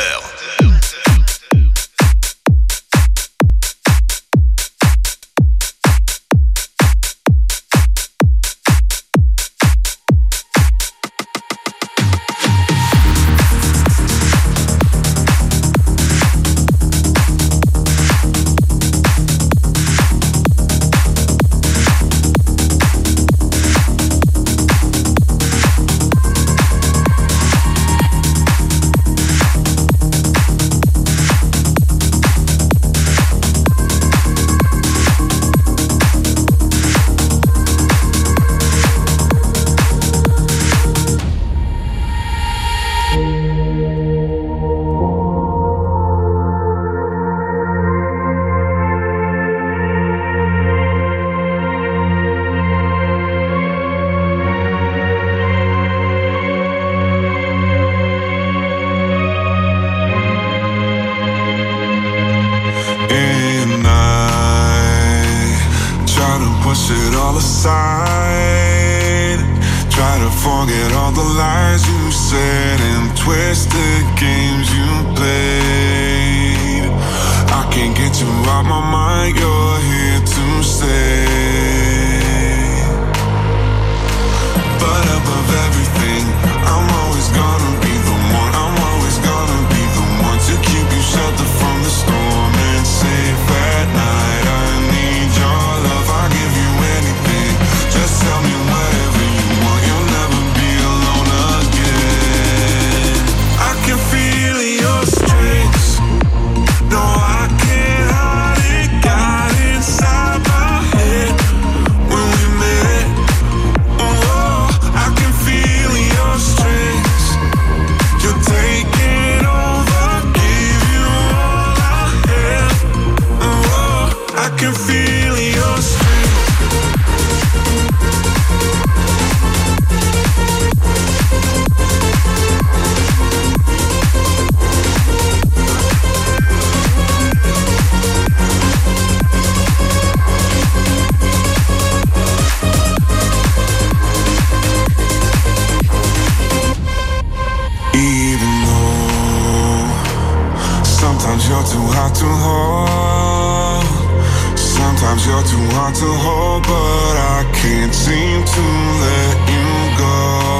push it all aside. Try to forget all the lies you said and twisted games you played. I can't get you out my mind, you're here to stay. But above everything, I'm always gonna be the one. I'm always gonna be the one to keep you sheltered from the storm and safe at night. I need your love, I'll give you anything. Just tell me whatever you want, you'll never be alone again. I can feel your strength. No, I can't hide it, got inside my head when we met. Oh, I can feel your strength. You're taking over, give you all I have. Oh, I can feel your strength. Even though sometimes you're too hard to hold, sometimes you're too hard to hold, but I can't seem to let you go.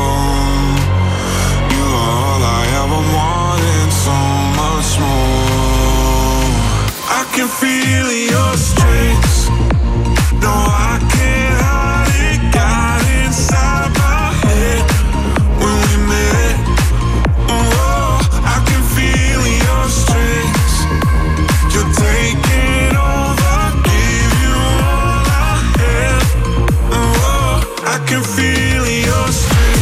You are all I ever wanted, so much more. I can feel your strength. No, I can't hide it, got inside my head when we met. Oh, I can feel your strength. You're taking over, give you all I have. Oh, I can feel your strength.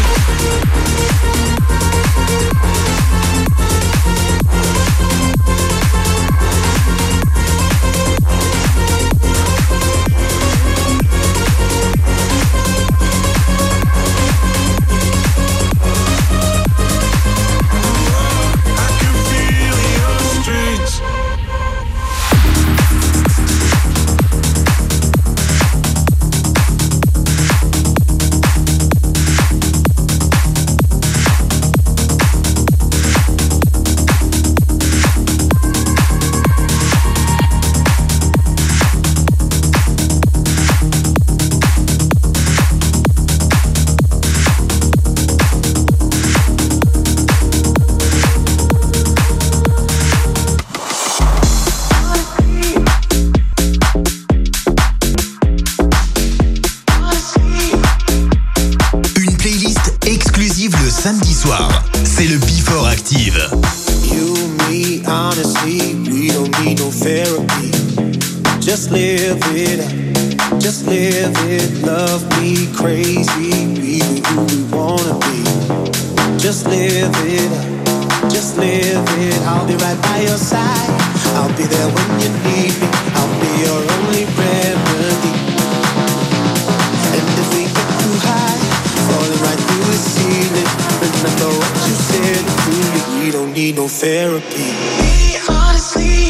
Samedi soir, c'est le Before Active. You, me, honestly, we don't need no therapy. Just live it up, just live it. Love me crazy, be who we wanna be. Just live it up, just live it. I'll be right by your side, I'll be there when you need me. I'll be your only remedy. And if we get too high, falling right through the ceiling, remember what you said to me. We don't need no therapy. Honestly.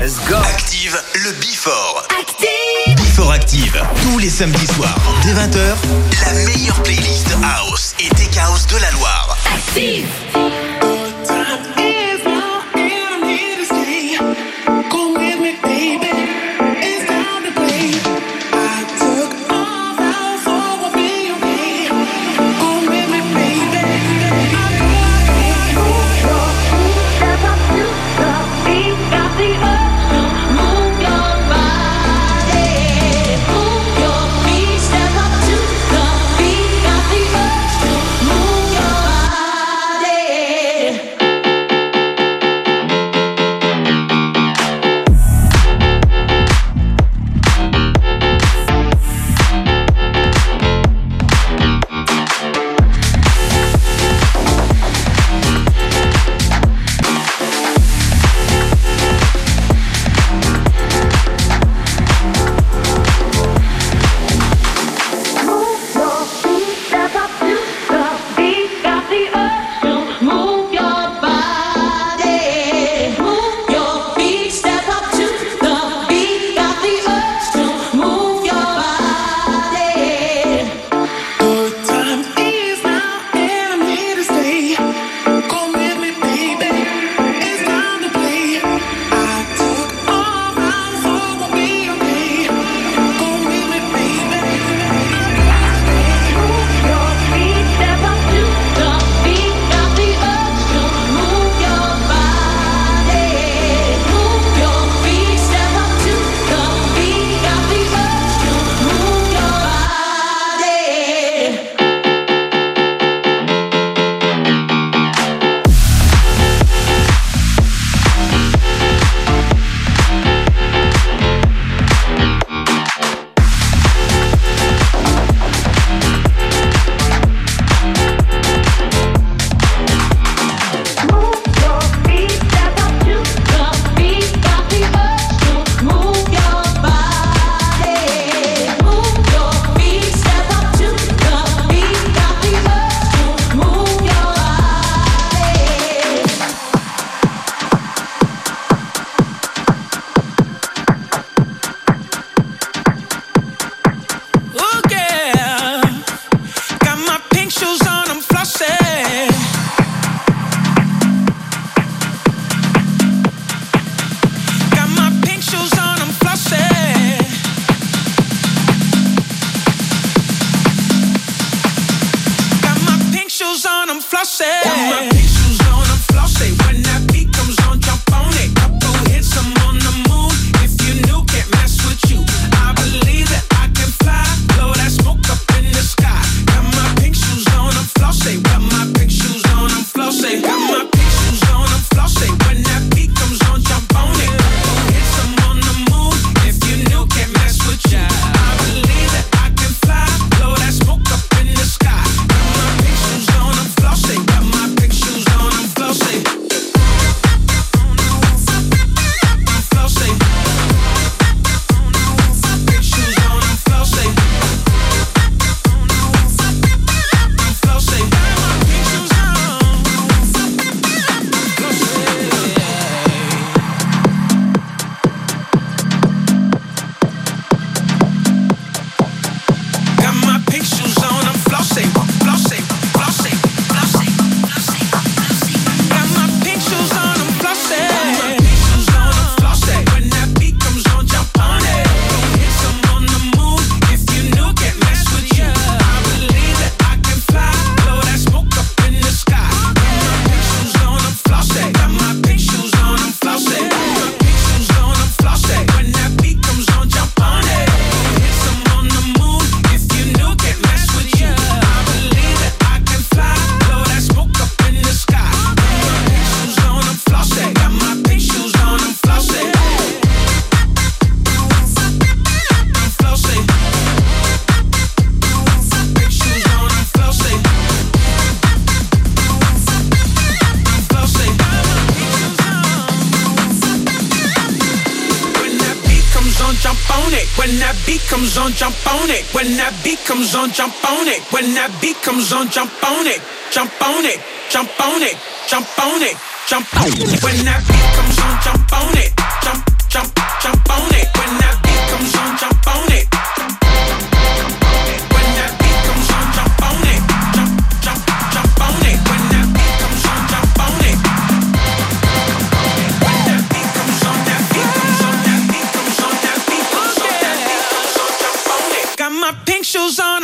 Let's go. Active le Before. Active. Before Active. Tous les samedis soirs, dès 20h, la meilleure playlist House et Tech House de la Loire. Active. When that beat comes on, jump on it. When that beat comes on, jump on it. When that beat comes on, jump on it. Jump on it. Jump on it. Jump on it. Jump on it. When that beat comes on, jump on it. Jump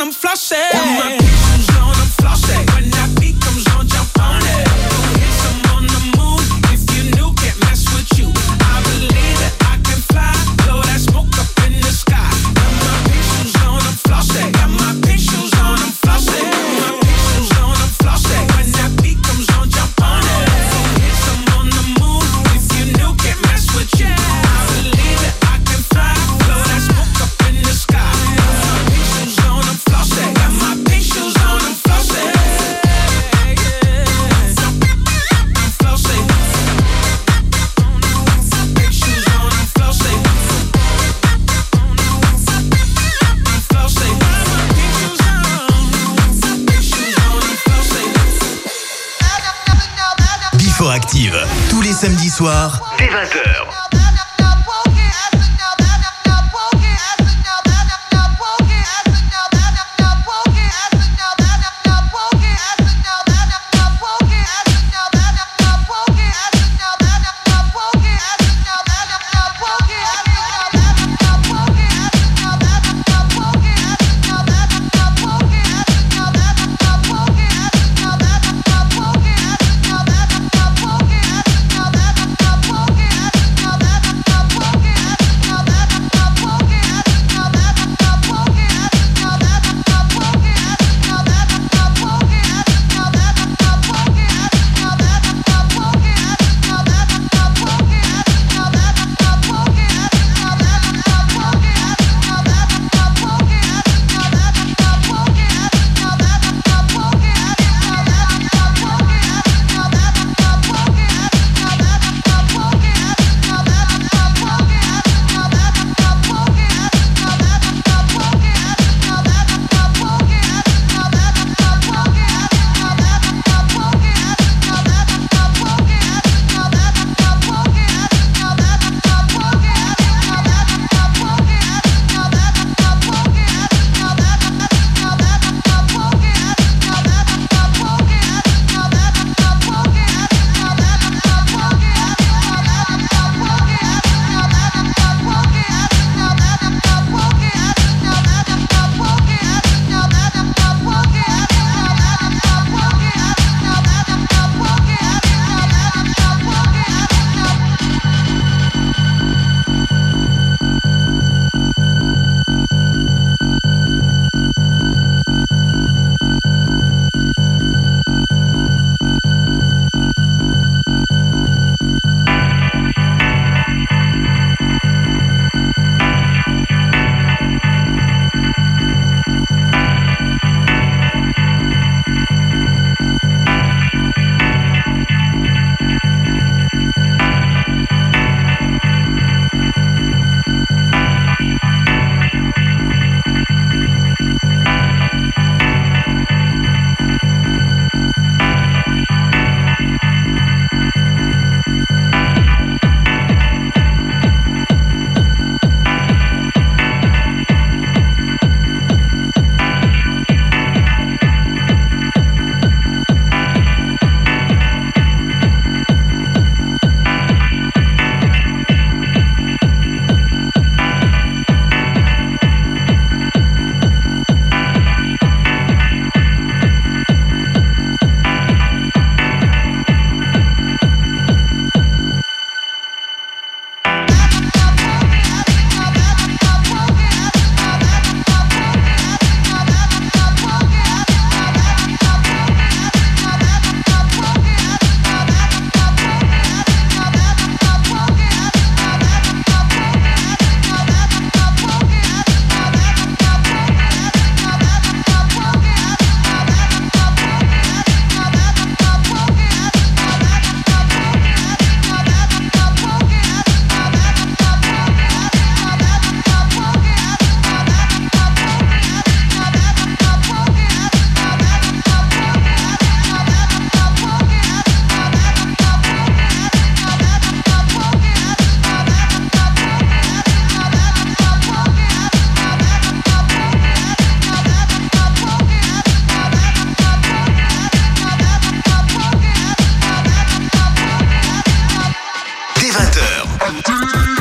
I'm flossing. Got my big shoes on, I'm flossing. When that beat comes on, jump on it. Go hit some on the moon. If you knew, can't mess with you. I believe that I can fly. Blow that smoke up in the sky. Got my big shoes on, I'm flossing. Got my big shoes on, I'm flossing. Got my big shoes on, I'm flossing. When that beat comes on, jump on it. Go hit some on the moon. If you knew, can't mess with you. I believe that I can fly. Blow that smoke up in the sky. Got my big shoes on, I'm flossing. Got my big shoes on, I'm flossing. I'm flossing. Big shoes on, I'm flossing. I'm flossing. Big shoes on. Big shoes on, I'm flossing. Before Active, tous les samedis soirs, dès 20h.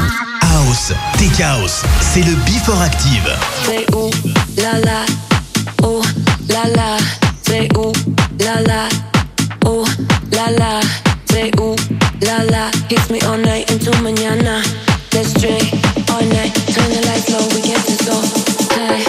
Chaos, c'est le Before Active. Fais où la la, ooh la la, say ooh la la, ooh la la, say ooh la la. Hits me all night into mañana. Let's drink all night, turn the lights low, we get this all high.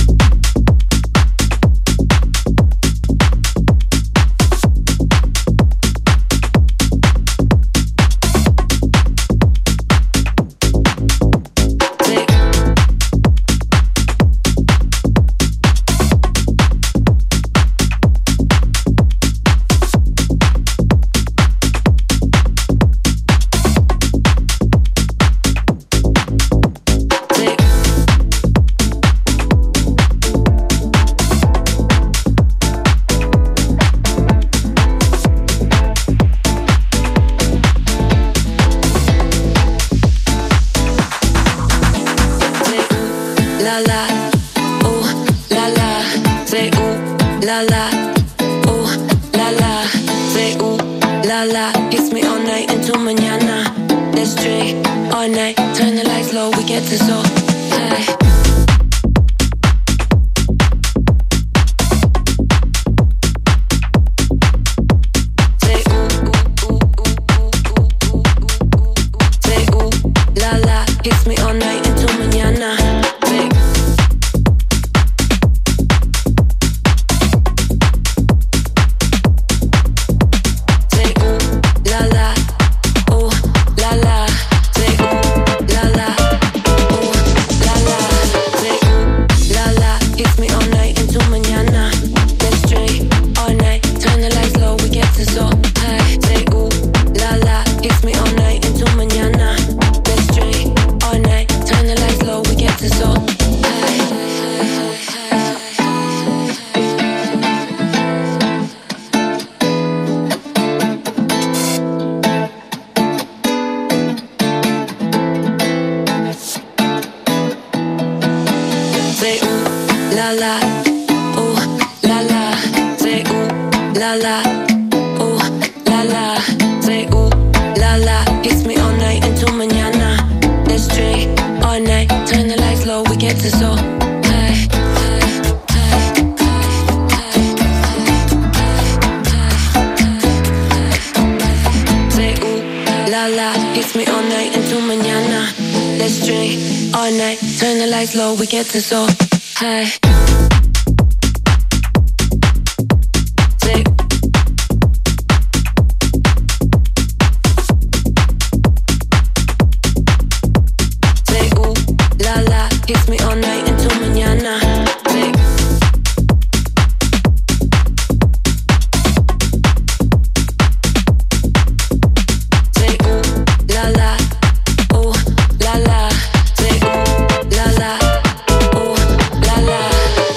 We get this all high. La la,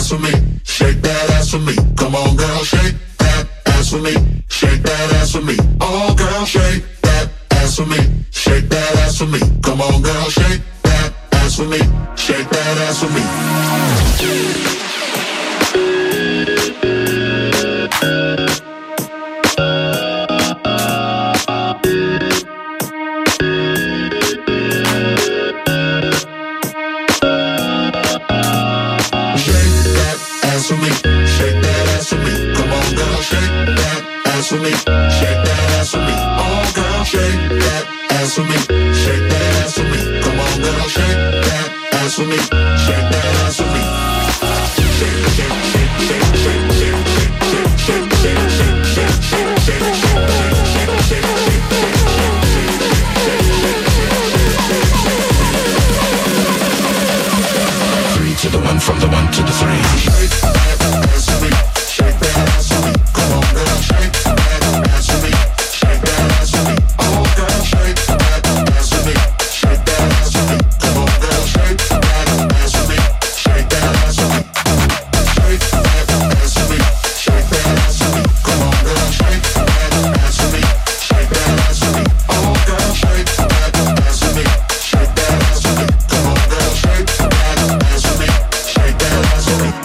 ass for me, shake that ass for me. Come on, girl, shake that ass for me, shake that ass for me. Oh, girl, shake that ass for me, shake that ass for me. Come on, girl, shake that ass for me, shake that ass for me. For me, shake that ass for me. Come on, girl, shake that ass for me. Shake that ass for me. Oh, girl, shake that ass for me. Shake that ass for me. Come on, girl, shake that ass for me. Shake that ass for me. Shake, shake, shake, shake, shake, shake, shake, shake, shake, shake, shake, shake. Three to the one, from the one to the three. Shake that ass for me, shake that ass for me. Come on, girl, shake that ass for me, shake that ass for me. Oh, girl, shake that ass for me, shake that ass for me. Come on, girl, shake that ass for me, shake that ass for me. Shake that ass for me, shake that ass for me. Come on, girl, shake that ass for me, shake that ass for me. Oh, girl, shake that ass for me, shake that ass for me. Come on, girl, shake that ass for me, shake that ass for me.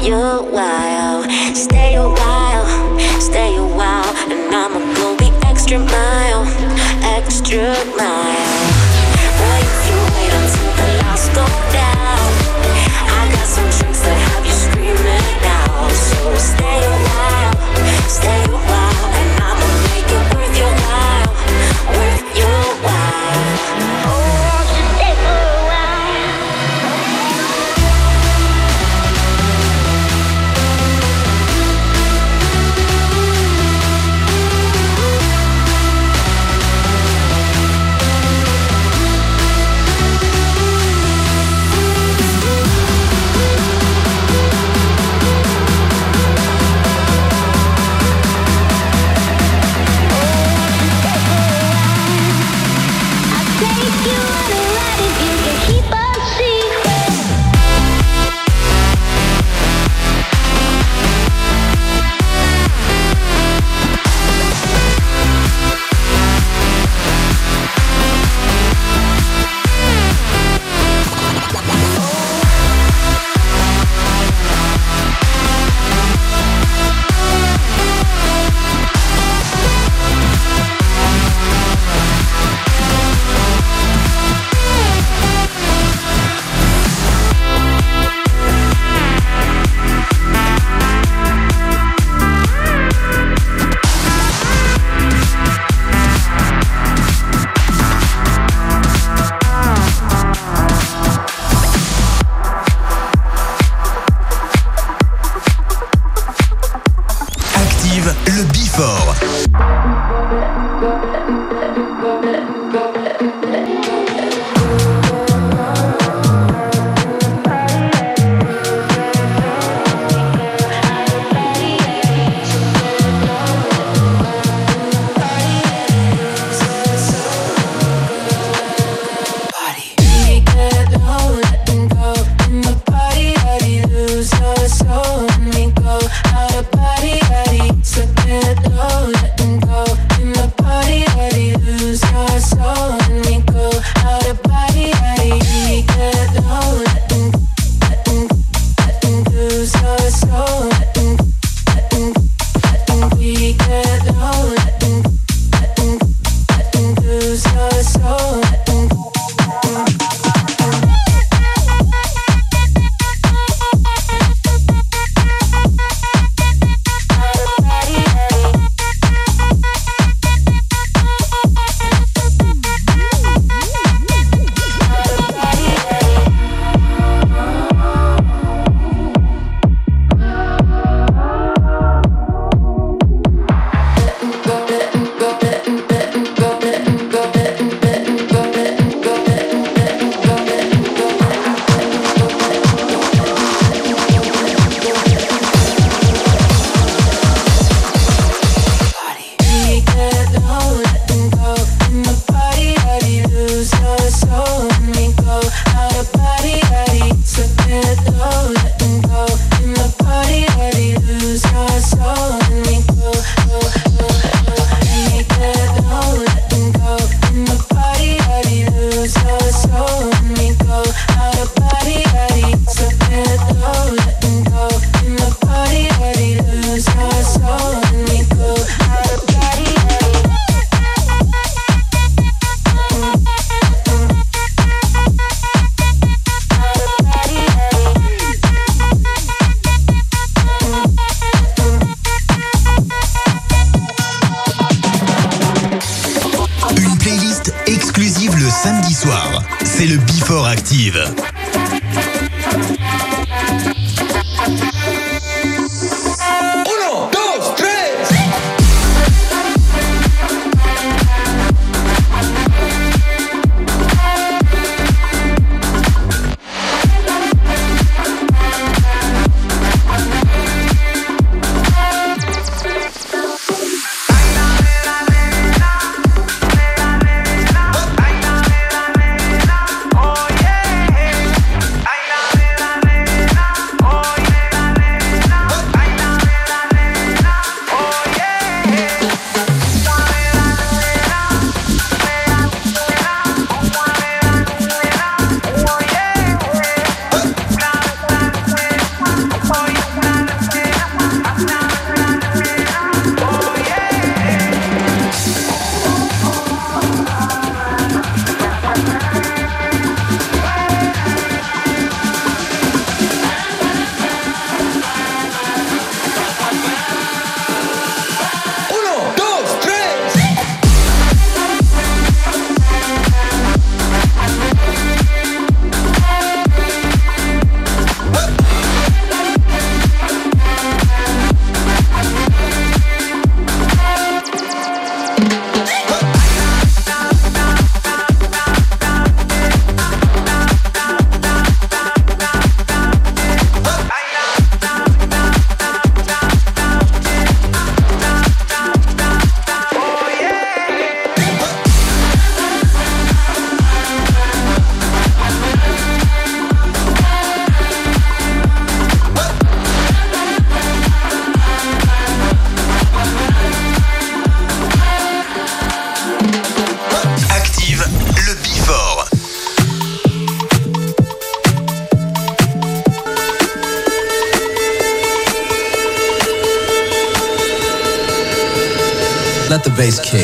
you a while. Stay a while, and I'ma go the extra mile, extra mile. Boy, if you wait until the lights go down, I got some tricks that have you screaming out. So stay a while, and I'ma make it worth your while, worth your while. Oh, stay for a while. Le Before. Samedi soir, c'est le Before Active. Let the bass kick.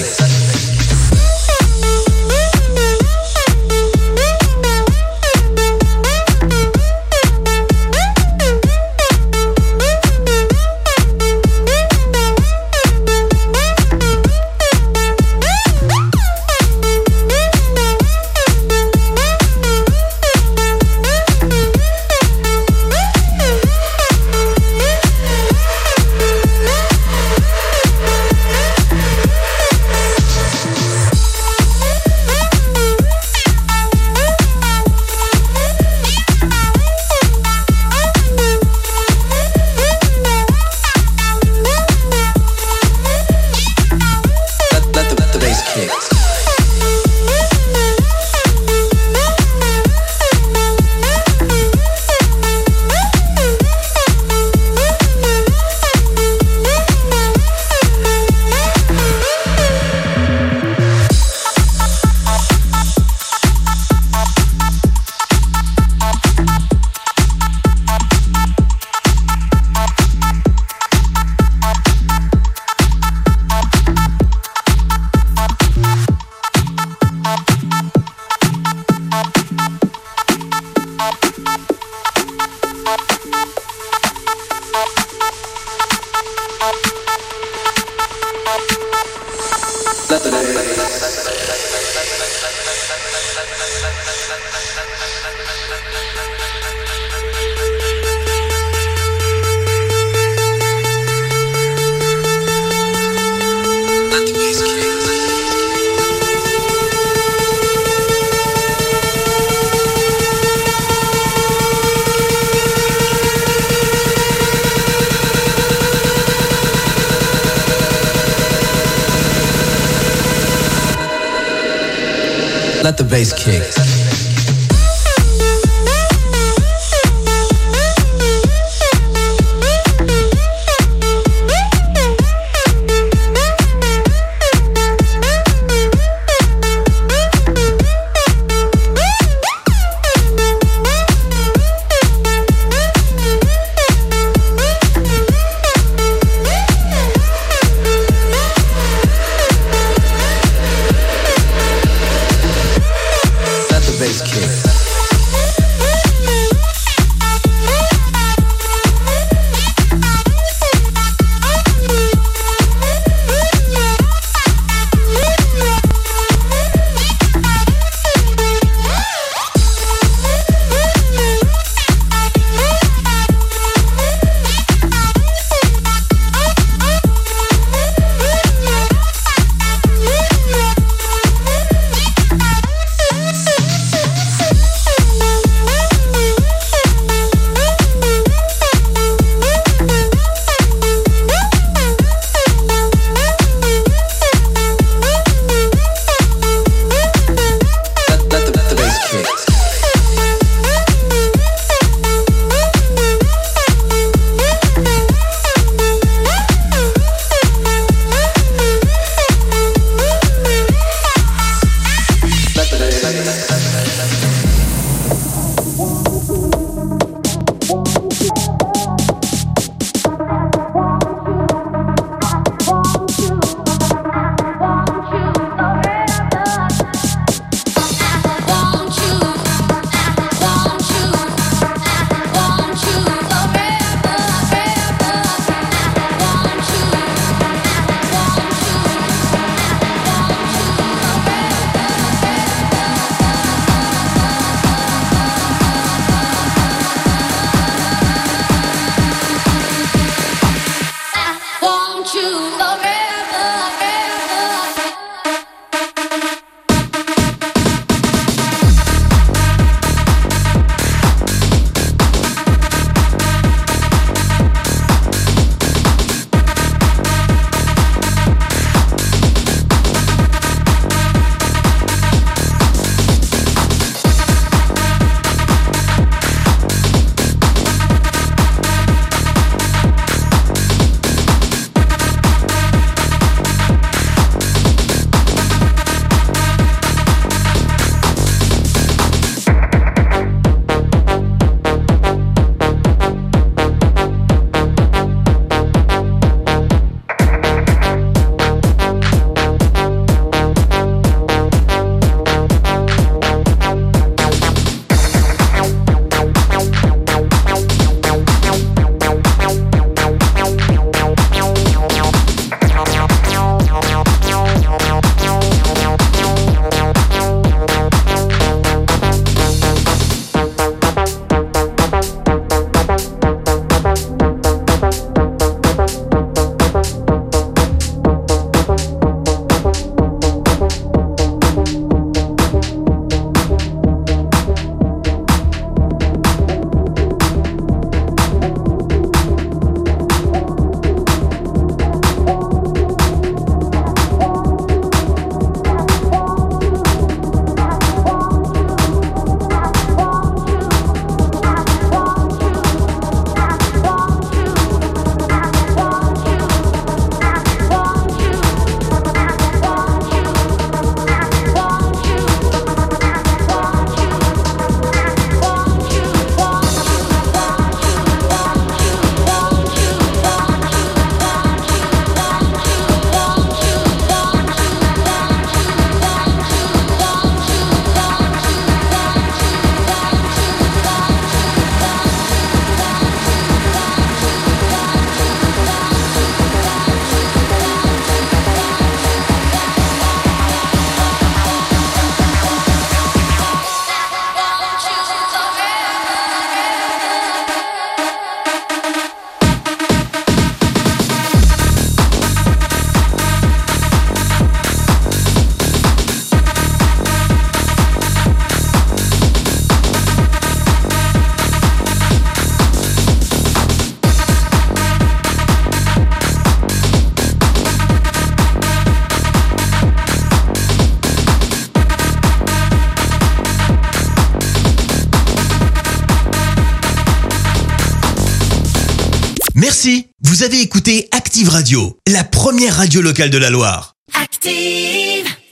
Let the bass kick. Merci. Vous avez écouté Active Radio, la première radio locale de la Loire. Active.